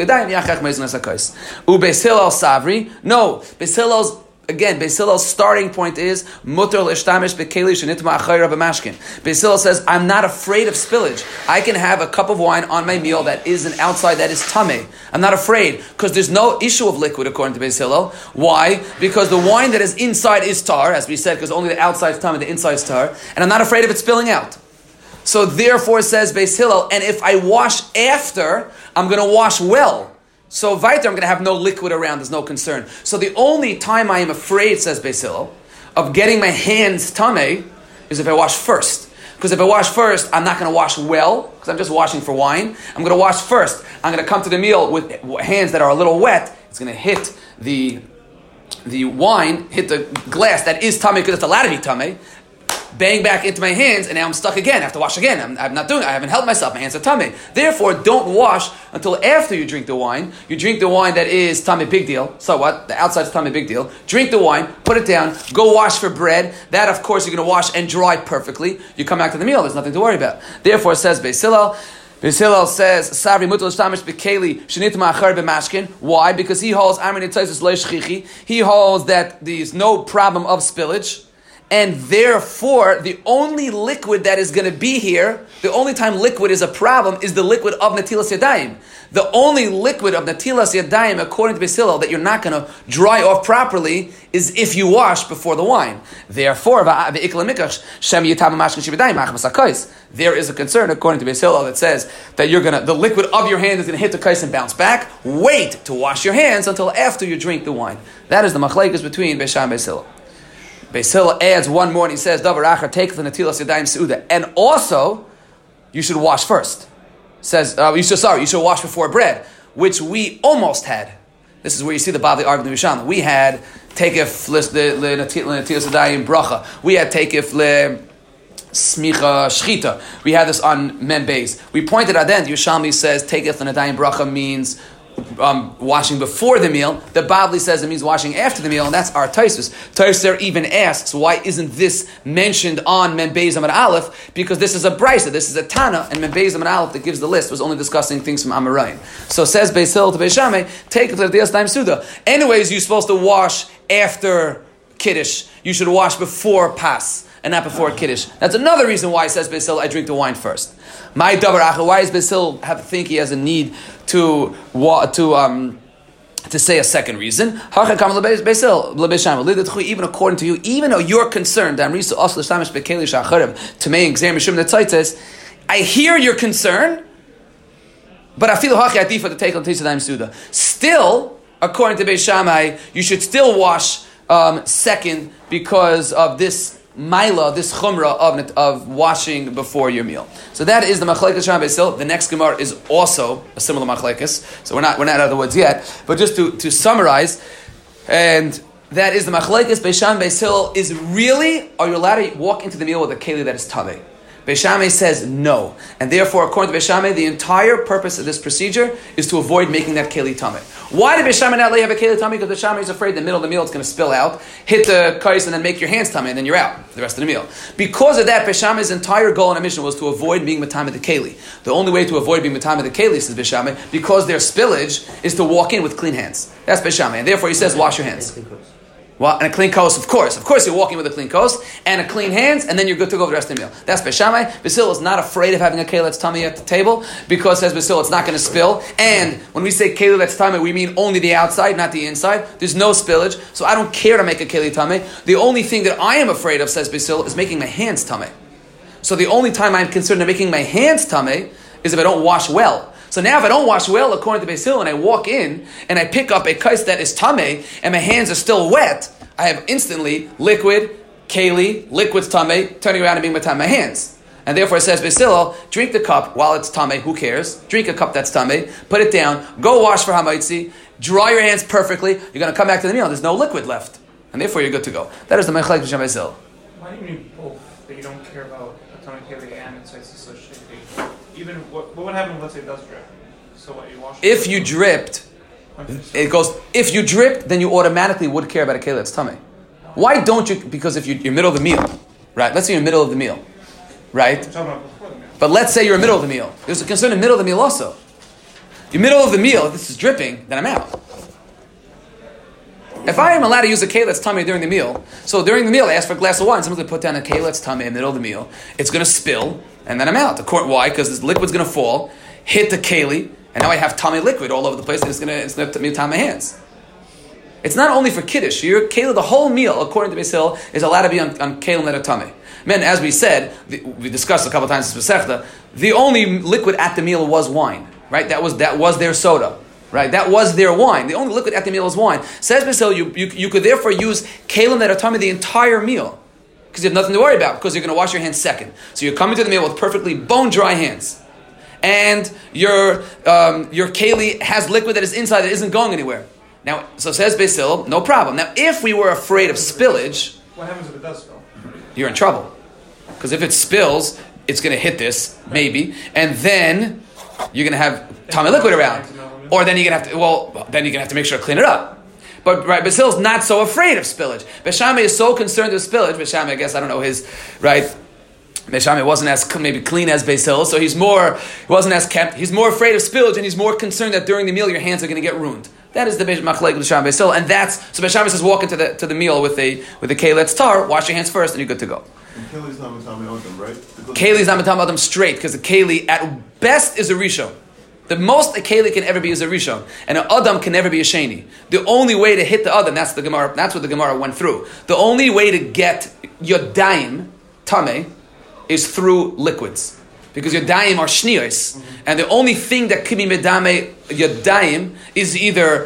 Beis Hillel Savri, no, Beis Hillel's Beis Hillel's starting point is mutar l'shtamish bekeli shenitma achayra b'mashkin. Beis Hillel says, I'm not afraid of spillage. I can have a cup of wine on my meal that is an outside that is tameh. I'm not afraid, because there's no issue of liquid according to Beis Hillel. Why? Because the wine that is inside is tar, as we said, because only the outside is tameh, the inside is tar, and I'm not afraid of it spilling out. So therefore, says Beis Hillel, and if I wash after, I'm going to wash well. So weiter, I'm going to have no liquid around, there's no concern. So the only time I am afraid, says Beis Hillel, of getting my hands tameh is if I wash first. Because if I wash first, I'm not going to wash well, because I'm just washing for wine. I'm going to wash first. I'm going to come to the meal with hands that are a little wet. It's going to hit the wine, hit the glass that is tameh, because it's allowed to be tameh, bang back into my hands, and now I'm stuck again. I have to wash again. I haven't helped myself. My hands are tameh. Therefore, don't wash until after you drink the wine. You drink the wine that is tameh, big deal. So what? The outside is tameh, big deal. Drink the wine, put it down, go wash for bread. That, of course, you're going to wash and dry perfectly. You come back to the meal. There's nothing to worry about. Therefore, says Beis Hillel. Beis Hillel says, "Savri mutal shtamish bekeli shenitma achar b'mashkin." Why? Because he holds Amrin Itzaisus lo shchichi. He holds that there's no problem of spillage. And therefore, the only liquid that is going to be here, the only time liquid is a problem, is the liquid of Natilas Yadayim. The only liquid of Natilas Yadayim, according to Beis Hillel, that you're not going to dry off properly, is if you wash before the wine. Therefore, there is a concern, according to Beis Hillel, that says that the liquid of your hand is going to hit the kais and bounce back. Wait to wash your hands until after you drink the wine. That is the machlekes between Beis Shammai and Beis Hillel. Beis Hillel adds one more and he says, Davar achar take the natilas yadayim seuda. And also, you should wash first. Says, you should wash before bread, which we almost had. This is where you see the Bavli argument of Yisham. We had Tekef le natilas yadayim bracha. We had Tekef le smicha shchita. We had this on Mem Beis. We pointed out then, Yerushalmi says Tekef le nadayim bracha means washing before the meal. The Bavli says it means washing after the meal, and that's our Taisus. Taisus even asks, why isn't this mentioned on Mem Beis Amud Aleph? Because this is a Brisa, this is a Tana, and Mem Beis Amud Aleph that gives the list was only discussing things from Amoraim. So says Beis Hillel to Beis Shammai, take it to the Dias Daim Suda. Anyways, you're supposed to wash after Kiddush. You should wash before Pas, and not before Kiddush. That's another reason why it says Beis Hillel, I drink the wine first. My davar achar, why does Beis Hillel think he has a need to say a second reason? Even according to you, even though you're concerned, I hear your concern, but I feel to take on Suda. Still, according to Beis Shammai, you should still wash second because of this Maila, this chumrah of washing before your meal. So that is the machlekes Sham Beis Hillel. The next Gemara is also a similar machlekes. So we're not out of the woods yet. But just to summarize, and that is the machlekes Beis Shammai Beis Hillel is really, are you allowed to walk into the meal with a keli that is tamei? Beis Shammai says no, and therefore, according to Beis Shammai, the entire purpose of this procedure is to avoid making that keli tamei. Why did Beis Shammai not let you have a keli tamei? Because Beis Shammai is afraid in the middle of the meal it's going to spill out, hit the kais, and then make your hands tamei, and then you're out for the rest of the meal. Because of that, Beis Shammai's entire goal in the mission was to avoid being matamei the keli. The only way to avoid being matamei the keli, says Beis Shammai, because their spillage, is to walk in with clean hands. That's Beis Shammai, and therefore he says wash your hands. Well, and a clean kos, of course. Of course you're walking with a clean kos and a clean hands, and then you're good to go for the rest of the meal. That's Beis Shammai. Beis Hillel is not afraid of having a keli that's tummy at the table, because says Beis Hillel it's not going to spill. And when we say keli that's tummy, we mean only the outside, not the inside. There's no spillage, so I don't care to make a keli tummy. The only thing that I am afraid of, says Beis Hillel, is making my hands tummy. So the only time I'm concerned of making my hands tummy is if I don't wash well. So now if I don't wash well, according to Beis Hillel, and I walk in and I pick up a kais that is tamei and my hands are still wet, I have instantly liquid, keli, liquid's tamei, turning around and being matam my hands. And therefore it says Beis Hillel, drink the cup while it's tamei, who cares? Drink a cup that's tamei, put it down, go wash for hamaitzi, dry your hands perfectly, you're going to come back to the meal, there's no liquid left. And therefore you're good to go. That is the Mechlek B'Shem Beis Hillel. Why do you need both? That you don't care about atomic keli and insights associated? Even what would happen if, let's say, it does drip? So what, you wash it? If you dripped, it goes, if you dripped, then you automatically would care about a keli that's tummy. Why don't you? Because if you're middle of the meal, right? Let's say you're in the middle of the meal, right? I'm talking about before the meal. But let's say you're in the middle of the meal. There's a concern in the middle of the meal also. You're middle of the meal, if this is dripping, then I'm out. If I am allowed to use a keli that's tummy during the meal, so during the meal I ask for a glass of wine, someone's going to put down a keli that's tummy in the middle of the meal, it's going to spill, and then I'm out. Why? Because this liquid's going to fall, hit the keli, and now I have tummy liquid all over the place, and it's going to tie my hands. It's not only for kiddush. Your keli, the whole meal, according to Beis Hillel, is allowed to be on kelim that are tummy. Men, as we said, we discussed a couple of times in Masechta, the only liquid at the meal was wine, right? That was their soda, right? That was their wine. The only liquid at the meal is wine. Says Beis Hillel, you could therefore use kelim that are tummy the entire meal, because you have nothing to worry about, because you're going to wash your hands second. So you're coming to the meal with perfectly bone dry hands. And your keli has liquid that is inside that isn't going anywhere. Now, so says Beis Hillel, no problem. Now, if we were afraid of spillage, what happens if it does spill? You're in trouble. Because if it spills, it's going to hit this, maybe, and then you're going to have tummy liquid around. Or then you're going to have to make sure to clean it up. But right, Beis Hillel's not so afraid of spillage. Beis Shammai is so concerned with spillage. Beis Shammai, I guess, I don't know his, right? Beis Shammai wasn't as maybe clean as Beis Hillel, so he wasn't as kept. He's more afraid of spillage, and he's more concerned that during the meal your hands are going to get ruined. That is the machlek of Beis Hillel, and that's so. Beis Shammai says, walk into the meal with a keli that's tar, wash your hands first, and you're good to go. And keli's not matam adam, right? Keli's not matam adam straight, because the keli at best is a rishon. The most a keli can ever be is a rishon, and an adam can never be a sheni. The only way to hit the adam, that's the Gemara. That's what the Gemara went through. The only way to get yodayim tameh is through liquids. Because yodayim are shniyos, and the only thing that could be medame yodayim is either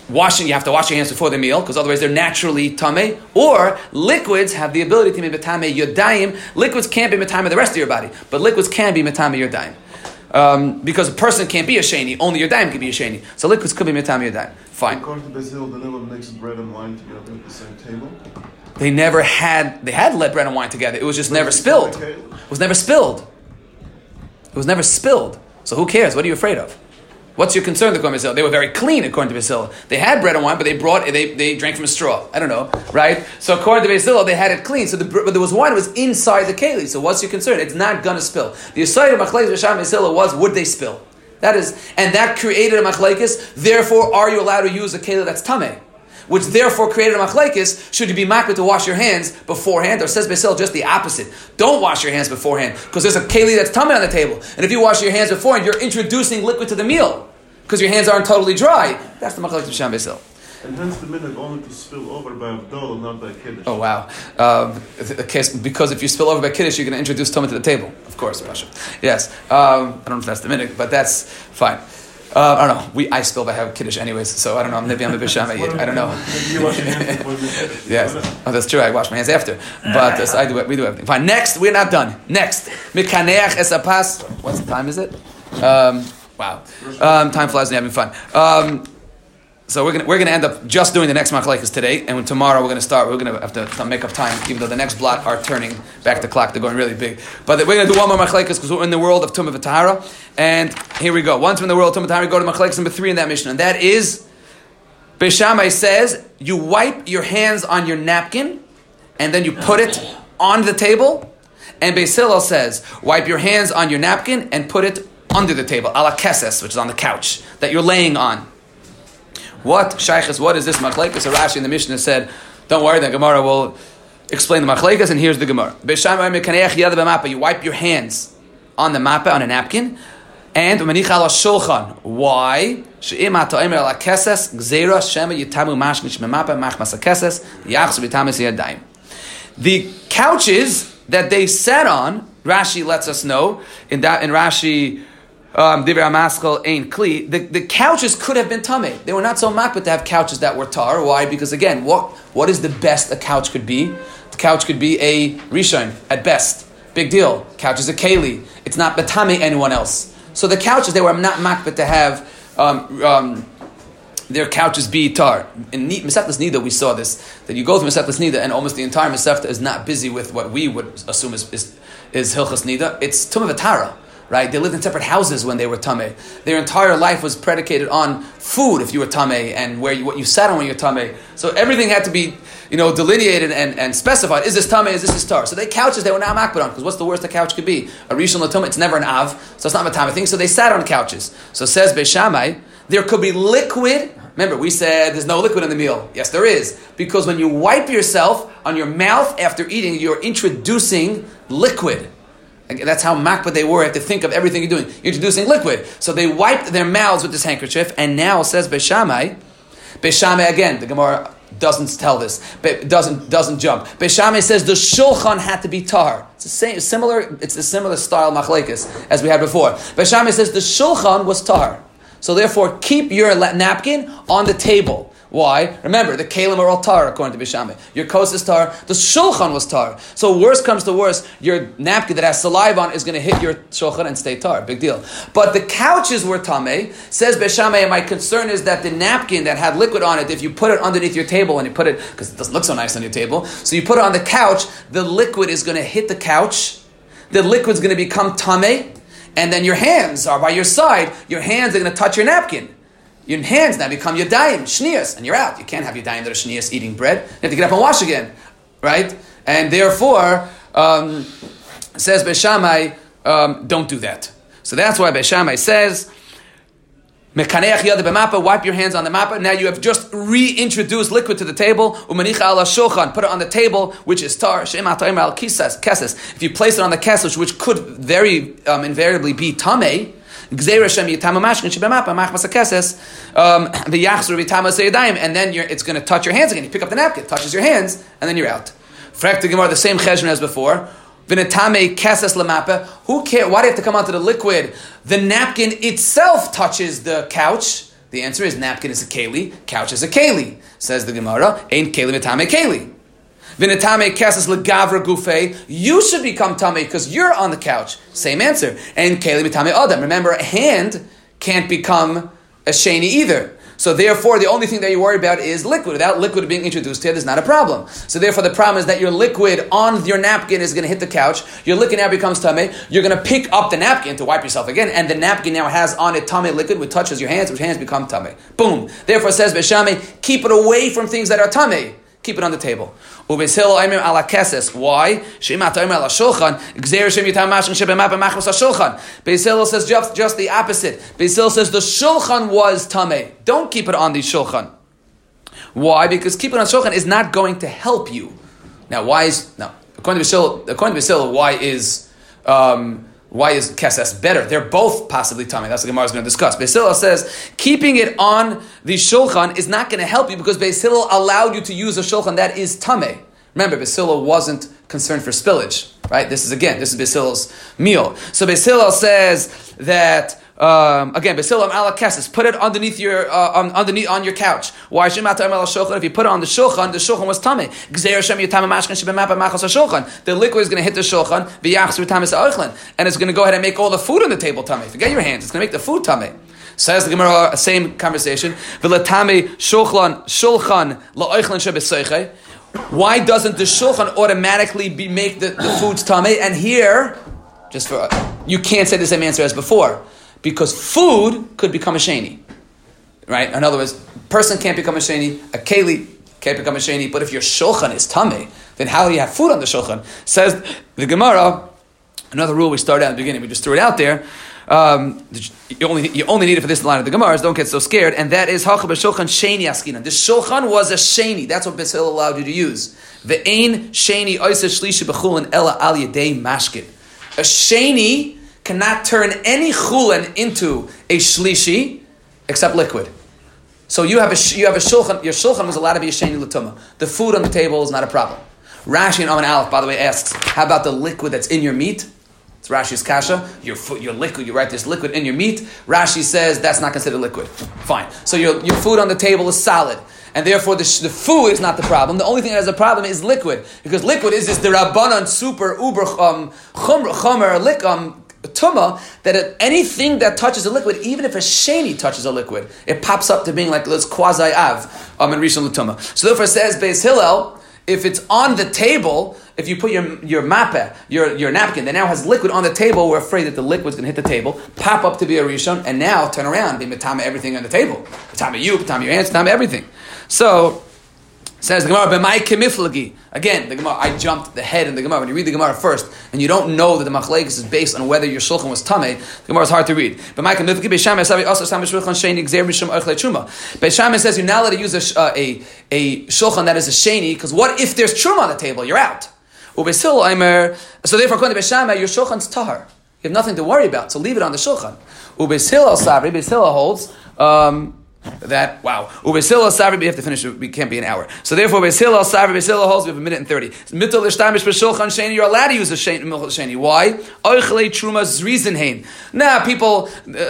you have to wash your hands before the meal, because otherwise they're naturally tameh. Or liquids have the ability to be metameh yodayim. Liquids can't be metameh the rest of your body, but liquids can be metameh yodayim. Because a person can't be a sheni, only yodayim can be a sheni. So liquids could be metameh yodayim. Fine. According to Basil, they never mixed bread and wine together at the same table. They had bread and wine together. It was just never spilled. It was never spilled. It was never spilled. So who cares? What are you afraid of? What's your concern, according to Basil? They were very clean, according to Basil. They had bread and wine, but they drank from a straw. I don't know, right? So according to Basil, they had it clean. So but there was wine, it was inside the keli. So what's your concern? It's not going to spill. The aside of Machlekes B'Sham Basil was, would they spill? That created a Machlekes. Therefore, are you allowed to use a keli that's tameh? Which therefore created a machlekes. Should you be makbid to wash your hands beforehand? Or says Basil just the opposite. Don't wash your hands beforehand, because there's a keli that's tameh on the table. And if you wash your hands beforehand, you're introducing liquid to the meal, because your hands aren't totally dry. That's the machlekes B'Sham Basil. And hence the minhag only to spill over by Avdol, not by Kiddush. Oh wow! Because if you spill over by Kiddush, you're going to introduce tumah to the table. Of course, Pasha. Yes. I don't know if that's the minhag, but that's fine. I don't know. I still have Kiddush anyways, so I don't know. Maybe I'm a Bisham. I don't know. Yes. Oh, that's true. I wash my hands after. But we do everything. Fine. Next, we're not done. Next. Mikaneach esapas. What time is it? Wow. Time flies when you're having fun. So we're gonna end up just doing the next machlekes today, and tomorrow we're gonna have to make up time, even though the next blot are turning back the clock. They're going really big. But we're gonna do one more machlekes because we're in the world of Tumah v'Tahara. And here we go. Once we're in the world of Tumah v'Tahara, we go to machlekes number 3 in that mission, and that is Beis Shammai says you wipe your hands on your napkin, and then you put it on the table. And Beis Hillel says wipe your hands on your napkin and put it under the table, ala keses, which is on the couch that you're laying on. What shaykhs? What is this machlekes? So Rashi in the Mishnah said, "Don't worry, the Gemara will explain the machlekes." And here's the Gemara: you wipe your hands on the mappa, on a napkin, and shulchan. Why? The couches that they sat on, Rashi lets us know in Rashi. The couches could have been tameh. They were not so makbid to have couches that were tar. Why? Because again, what is the best a couch could be? The couch could be a rishon at best. Big deal. Couch is a keli. It's not betame anyone else. So the couches, they were not makbid to have their couches be tar. In Masechtas Nida we saw this, that you go through Masechtas Nida and almost the entire Masechta is not busy with what we would assume is Hilchas Nida. It's Tumah v'Tahara. Right? They lived in separate houses when they were tameh. Their entire life was predicated on food if you were tameh, and what you sat on when you were tameh. So everything had to be, delineated and specified. Is this tameh? Is this tar? So they couches they were not makbid on, because what's the worst a couch could be? A rishon l'tumah. It's never an av, so it's not a tameh thing. So they sat on couches. So says Beis Shammai, there could be liquid. Remember, we said there's no liquid in the meal. Yes, there is, because when you wipe yourself on your mouth after eating, you're introducing liquid. That's how makbid they were. You have to think of everything you're doing. You're introducing liquid. So they wiped their mouths with this handkerchief, and now says Beis Shammai again, the Gemara doesn't tell this, but doesn't jump. Beis Shammai says the shulchan had to be tar. It's a similar style machlekes as we had before. Beis Shammai says the shulchan was tar. So therefore, keep your napkin on the table. Why? Remember, the kalim are all tar, according to Beis Shammai. Your kos is tar. The shulchan was tar. So worst comes to worst, your napkin that has saliva on is going to hit your shulchan and stay tar. Big deal. But the couches were tameh. Says Beis Shammai, and my concern is that the napkin that had liquid on it, if you put it underneath your table and you put it, because it doesn't look so nice on your table, so you put it on the couch, the liquid is going to hit the couch. The liquid's going to become tameh. And then your hands are by your side. Your hands are going to touch your napkin. Your hands now become yadayim, shnias, and you're out. You can't have yadayim that are shnias eating bread. You have to get up and wash again, right? And therefore, says Beis Shammai, don't do that. So that's why Beis Shammai says, Mekaneach yada b'mappa, wipe your hands on the mappa. Now you have just reintroduced liquid to the table. Umanicha ala shulchan, put it on the table, which is tar. She'ema ta'im al keses. If you place it on the keses, which could very invariably be tameh, and then it's going to touch your hands again. You pick up the napkin, it touches your hands, and then you're out. Frak the Gemara, the same cheshbon as before. Who cares? Why do you have to come onto the liquid? The napkin itself touches the couch. The answer is napkin is a keli, couch is a keli. Says the Gemara, ain't keli mitame keli. Vinatame kesses legavra gufe. You should become tame because you're on the couch. Same answer. And keli mitame adam. Remember, a hand can't become a sheni either. So therefore, the only thing that you worry about is liquid. Without liquid being introduced here, there's not a problem. So therefore, the problem is that your liquid on your napkin is going to hit the couch. Your liquid now becomes tameh. You're going to pick up the napkin to wipe yourself again, and the napkin now has on it tameh liquid, which touches your hands, which hands become tameh. Boom. Therefore, says Beshame, keep it away from things that are tameh. Keep it on the table. Why? Beis Hillel says just the opposite. Beis Hillel says the shulchan was tameh. Don't keep it on the shulchan. Why? Because keeping it on shulchan is not going to help you. Now, according to Beis Hillel, why is keses better? They're both possibly tameh. That's what the Gemara is going to discuss. Beis Hillel says keeping it on the shulchan is not going to help you because Beis Hillel allowed you to use a shulchan that is tameh. Remember, Beis Hillel wasn't concerned for spillage, right? This is Beis Hillel's meal. So Beis Hillel says that again, Beis Hillel ala keses, put it underneath your on your couch. Why? If you put it on the shulchan was tameh. The liquid is going to hit the shulchan, and it's going to go ahead and make all the food on the table tameh. Forget your hands; it's going to make the food tameh. Says the Gemara, same conversation. Why doesn't the shulchan automatically make the foods tameh? And here, you can't say the same answer as before. Because food could become a sheni, right? In other words, person can't become a sheni, a keli can't become a sheni, but if your shulchan is tameh, then how do you have food on the shulchan? Says the Gemara, another rule we started out at the beginning, we just threw it out there, you only need it for this line of the Gemara, don't get so scared, and that is, hacha b'shulchan sheni askinan. The shulchan was a sheni, that's what Beis Hillel allowed you to use. Ve'ein sheni oiseh shlishi b'chulin ela al yedei mashkin. A sheni cannot turn any chulin into a shlishi except liquid. So you have a shulchan. Your shulchan was allowed to be a sheni l'tumah. The food on the table is not a problem. Rashi and Amin Aleph, by the way, asks, how about the liquid that's in your meat? It's Rashi's kasha. Your liquid. You write this liquid in your meat. Rashi says that's not considered liquid. Fine. So your food on the table is solid. And therefore, the food is not the problem. The only thing that has a problem is liquid, because liquid is the rabbanan super uber chomer tuma, that anything that touches a liquid, even if a sheni touches a liquid, it pops up to being like this quasi av in rishon l'tuma. So therefore, says Beis Hillel, if it's on the table, if you put your mappeh, your napkin that now has liquid on the table, we're afraid that the liquid's going to hit the table, pop up to be a rishon, and now turn around, be metame everything on the table, metame you, metame your hands, metame everything. So says the Gemara, b'mai kemiflagi. Again, the Gemara, I jumped the head in the Gemara. When you read the Gemara first, and you don't know that the machlekes is based on whether your shulchan was tameh, the Gemara is hard to read. B'mai kemiflagi, Beis Shammai says you're not allowed to use a shulchan that is a sheni, because what if there's truma on the table? You're out. So therefore, according to Beis Shammai, your shulchan's tahar. You have nothing to worry about, so leave it on the shulchan. Beis Hillel holds that, wow. Beis Hillel Savri, we have to finish, we can't be an hour. So therefore, Beis Hillel Savri, Beis Hillel holds, we have a minute and 30. You're allowed to use a sheni. Why? Oichlei truma zrizenhein. Now, people,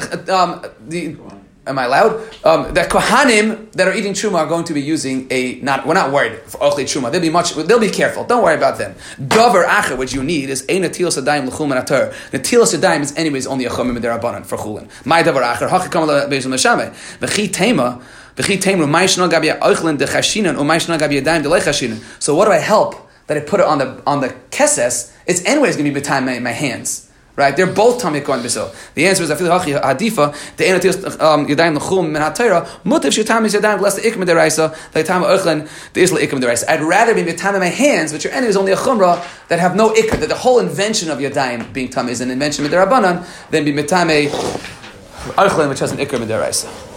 am I loud? That kohanim that are eating truma are going to be using we're not worried for ochlei truma. They'll be careful. Don't worry about them. Davar acher, which you need is ein netilas yadayim l'chul min atar. Netilas yadayim is anyways only a chumim derabanan for chulin. My davar acher hakikam lebeizum l'shameh v'chi tema ma'ishna gabi ochlin dechashinan or ma'ishna gabi yadayim delechashinan. So what do I help that I put it on the keses? It's anyways going to be behind my hands. Right, they're both tamei kohen b'sil. The answer is afil hachi hadifa the enatil yadayim l'chum min hatayra mutav shetamis yadayim less the ikim deraisa the tam ochlen the isla ikim deraisa. I'd rather be mitamei my hands, which your enemy is only a chumrah that have no ikr. That the whole invention of yadayim being tamei is an invention of the rabbanan, than be mitamei ochlen which has an ikr deraisa.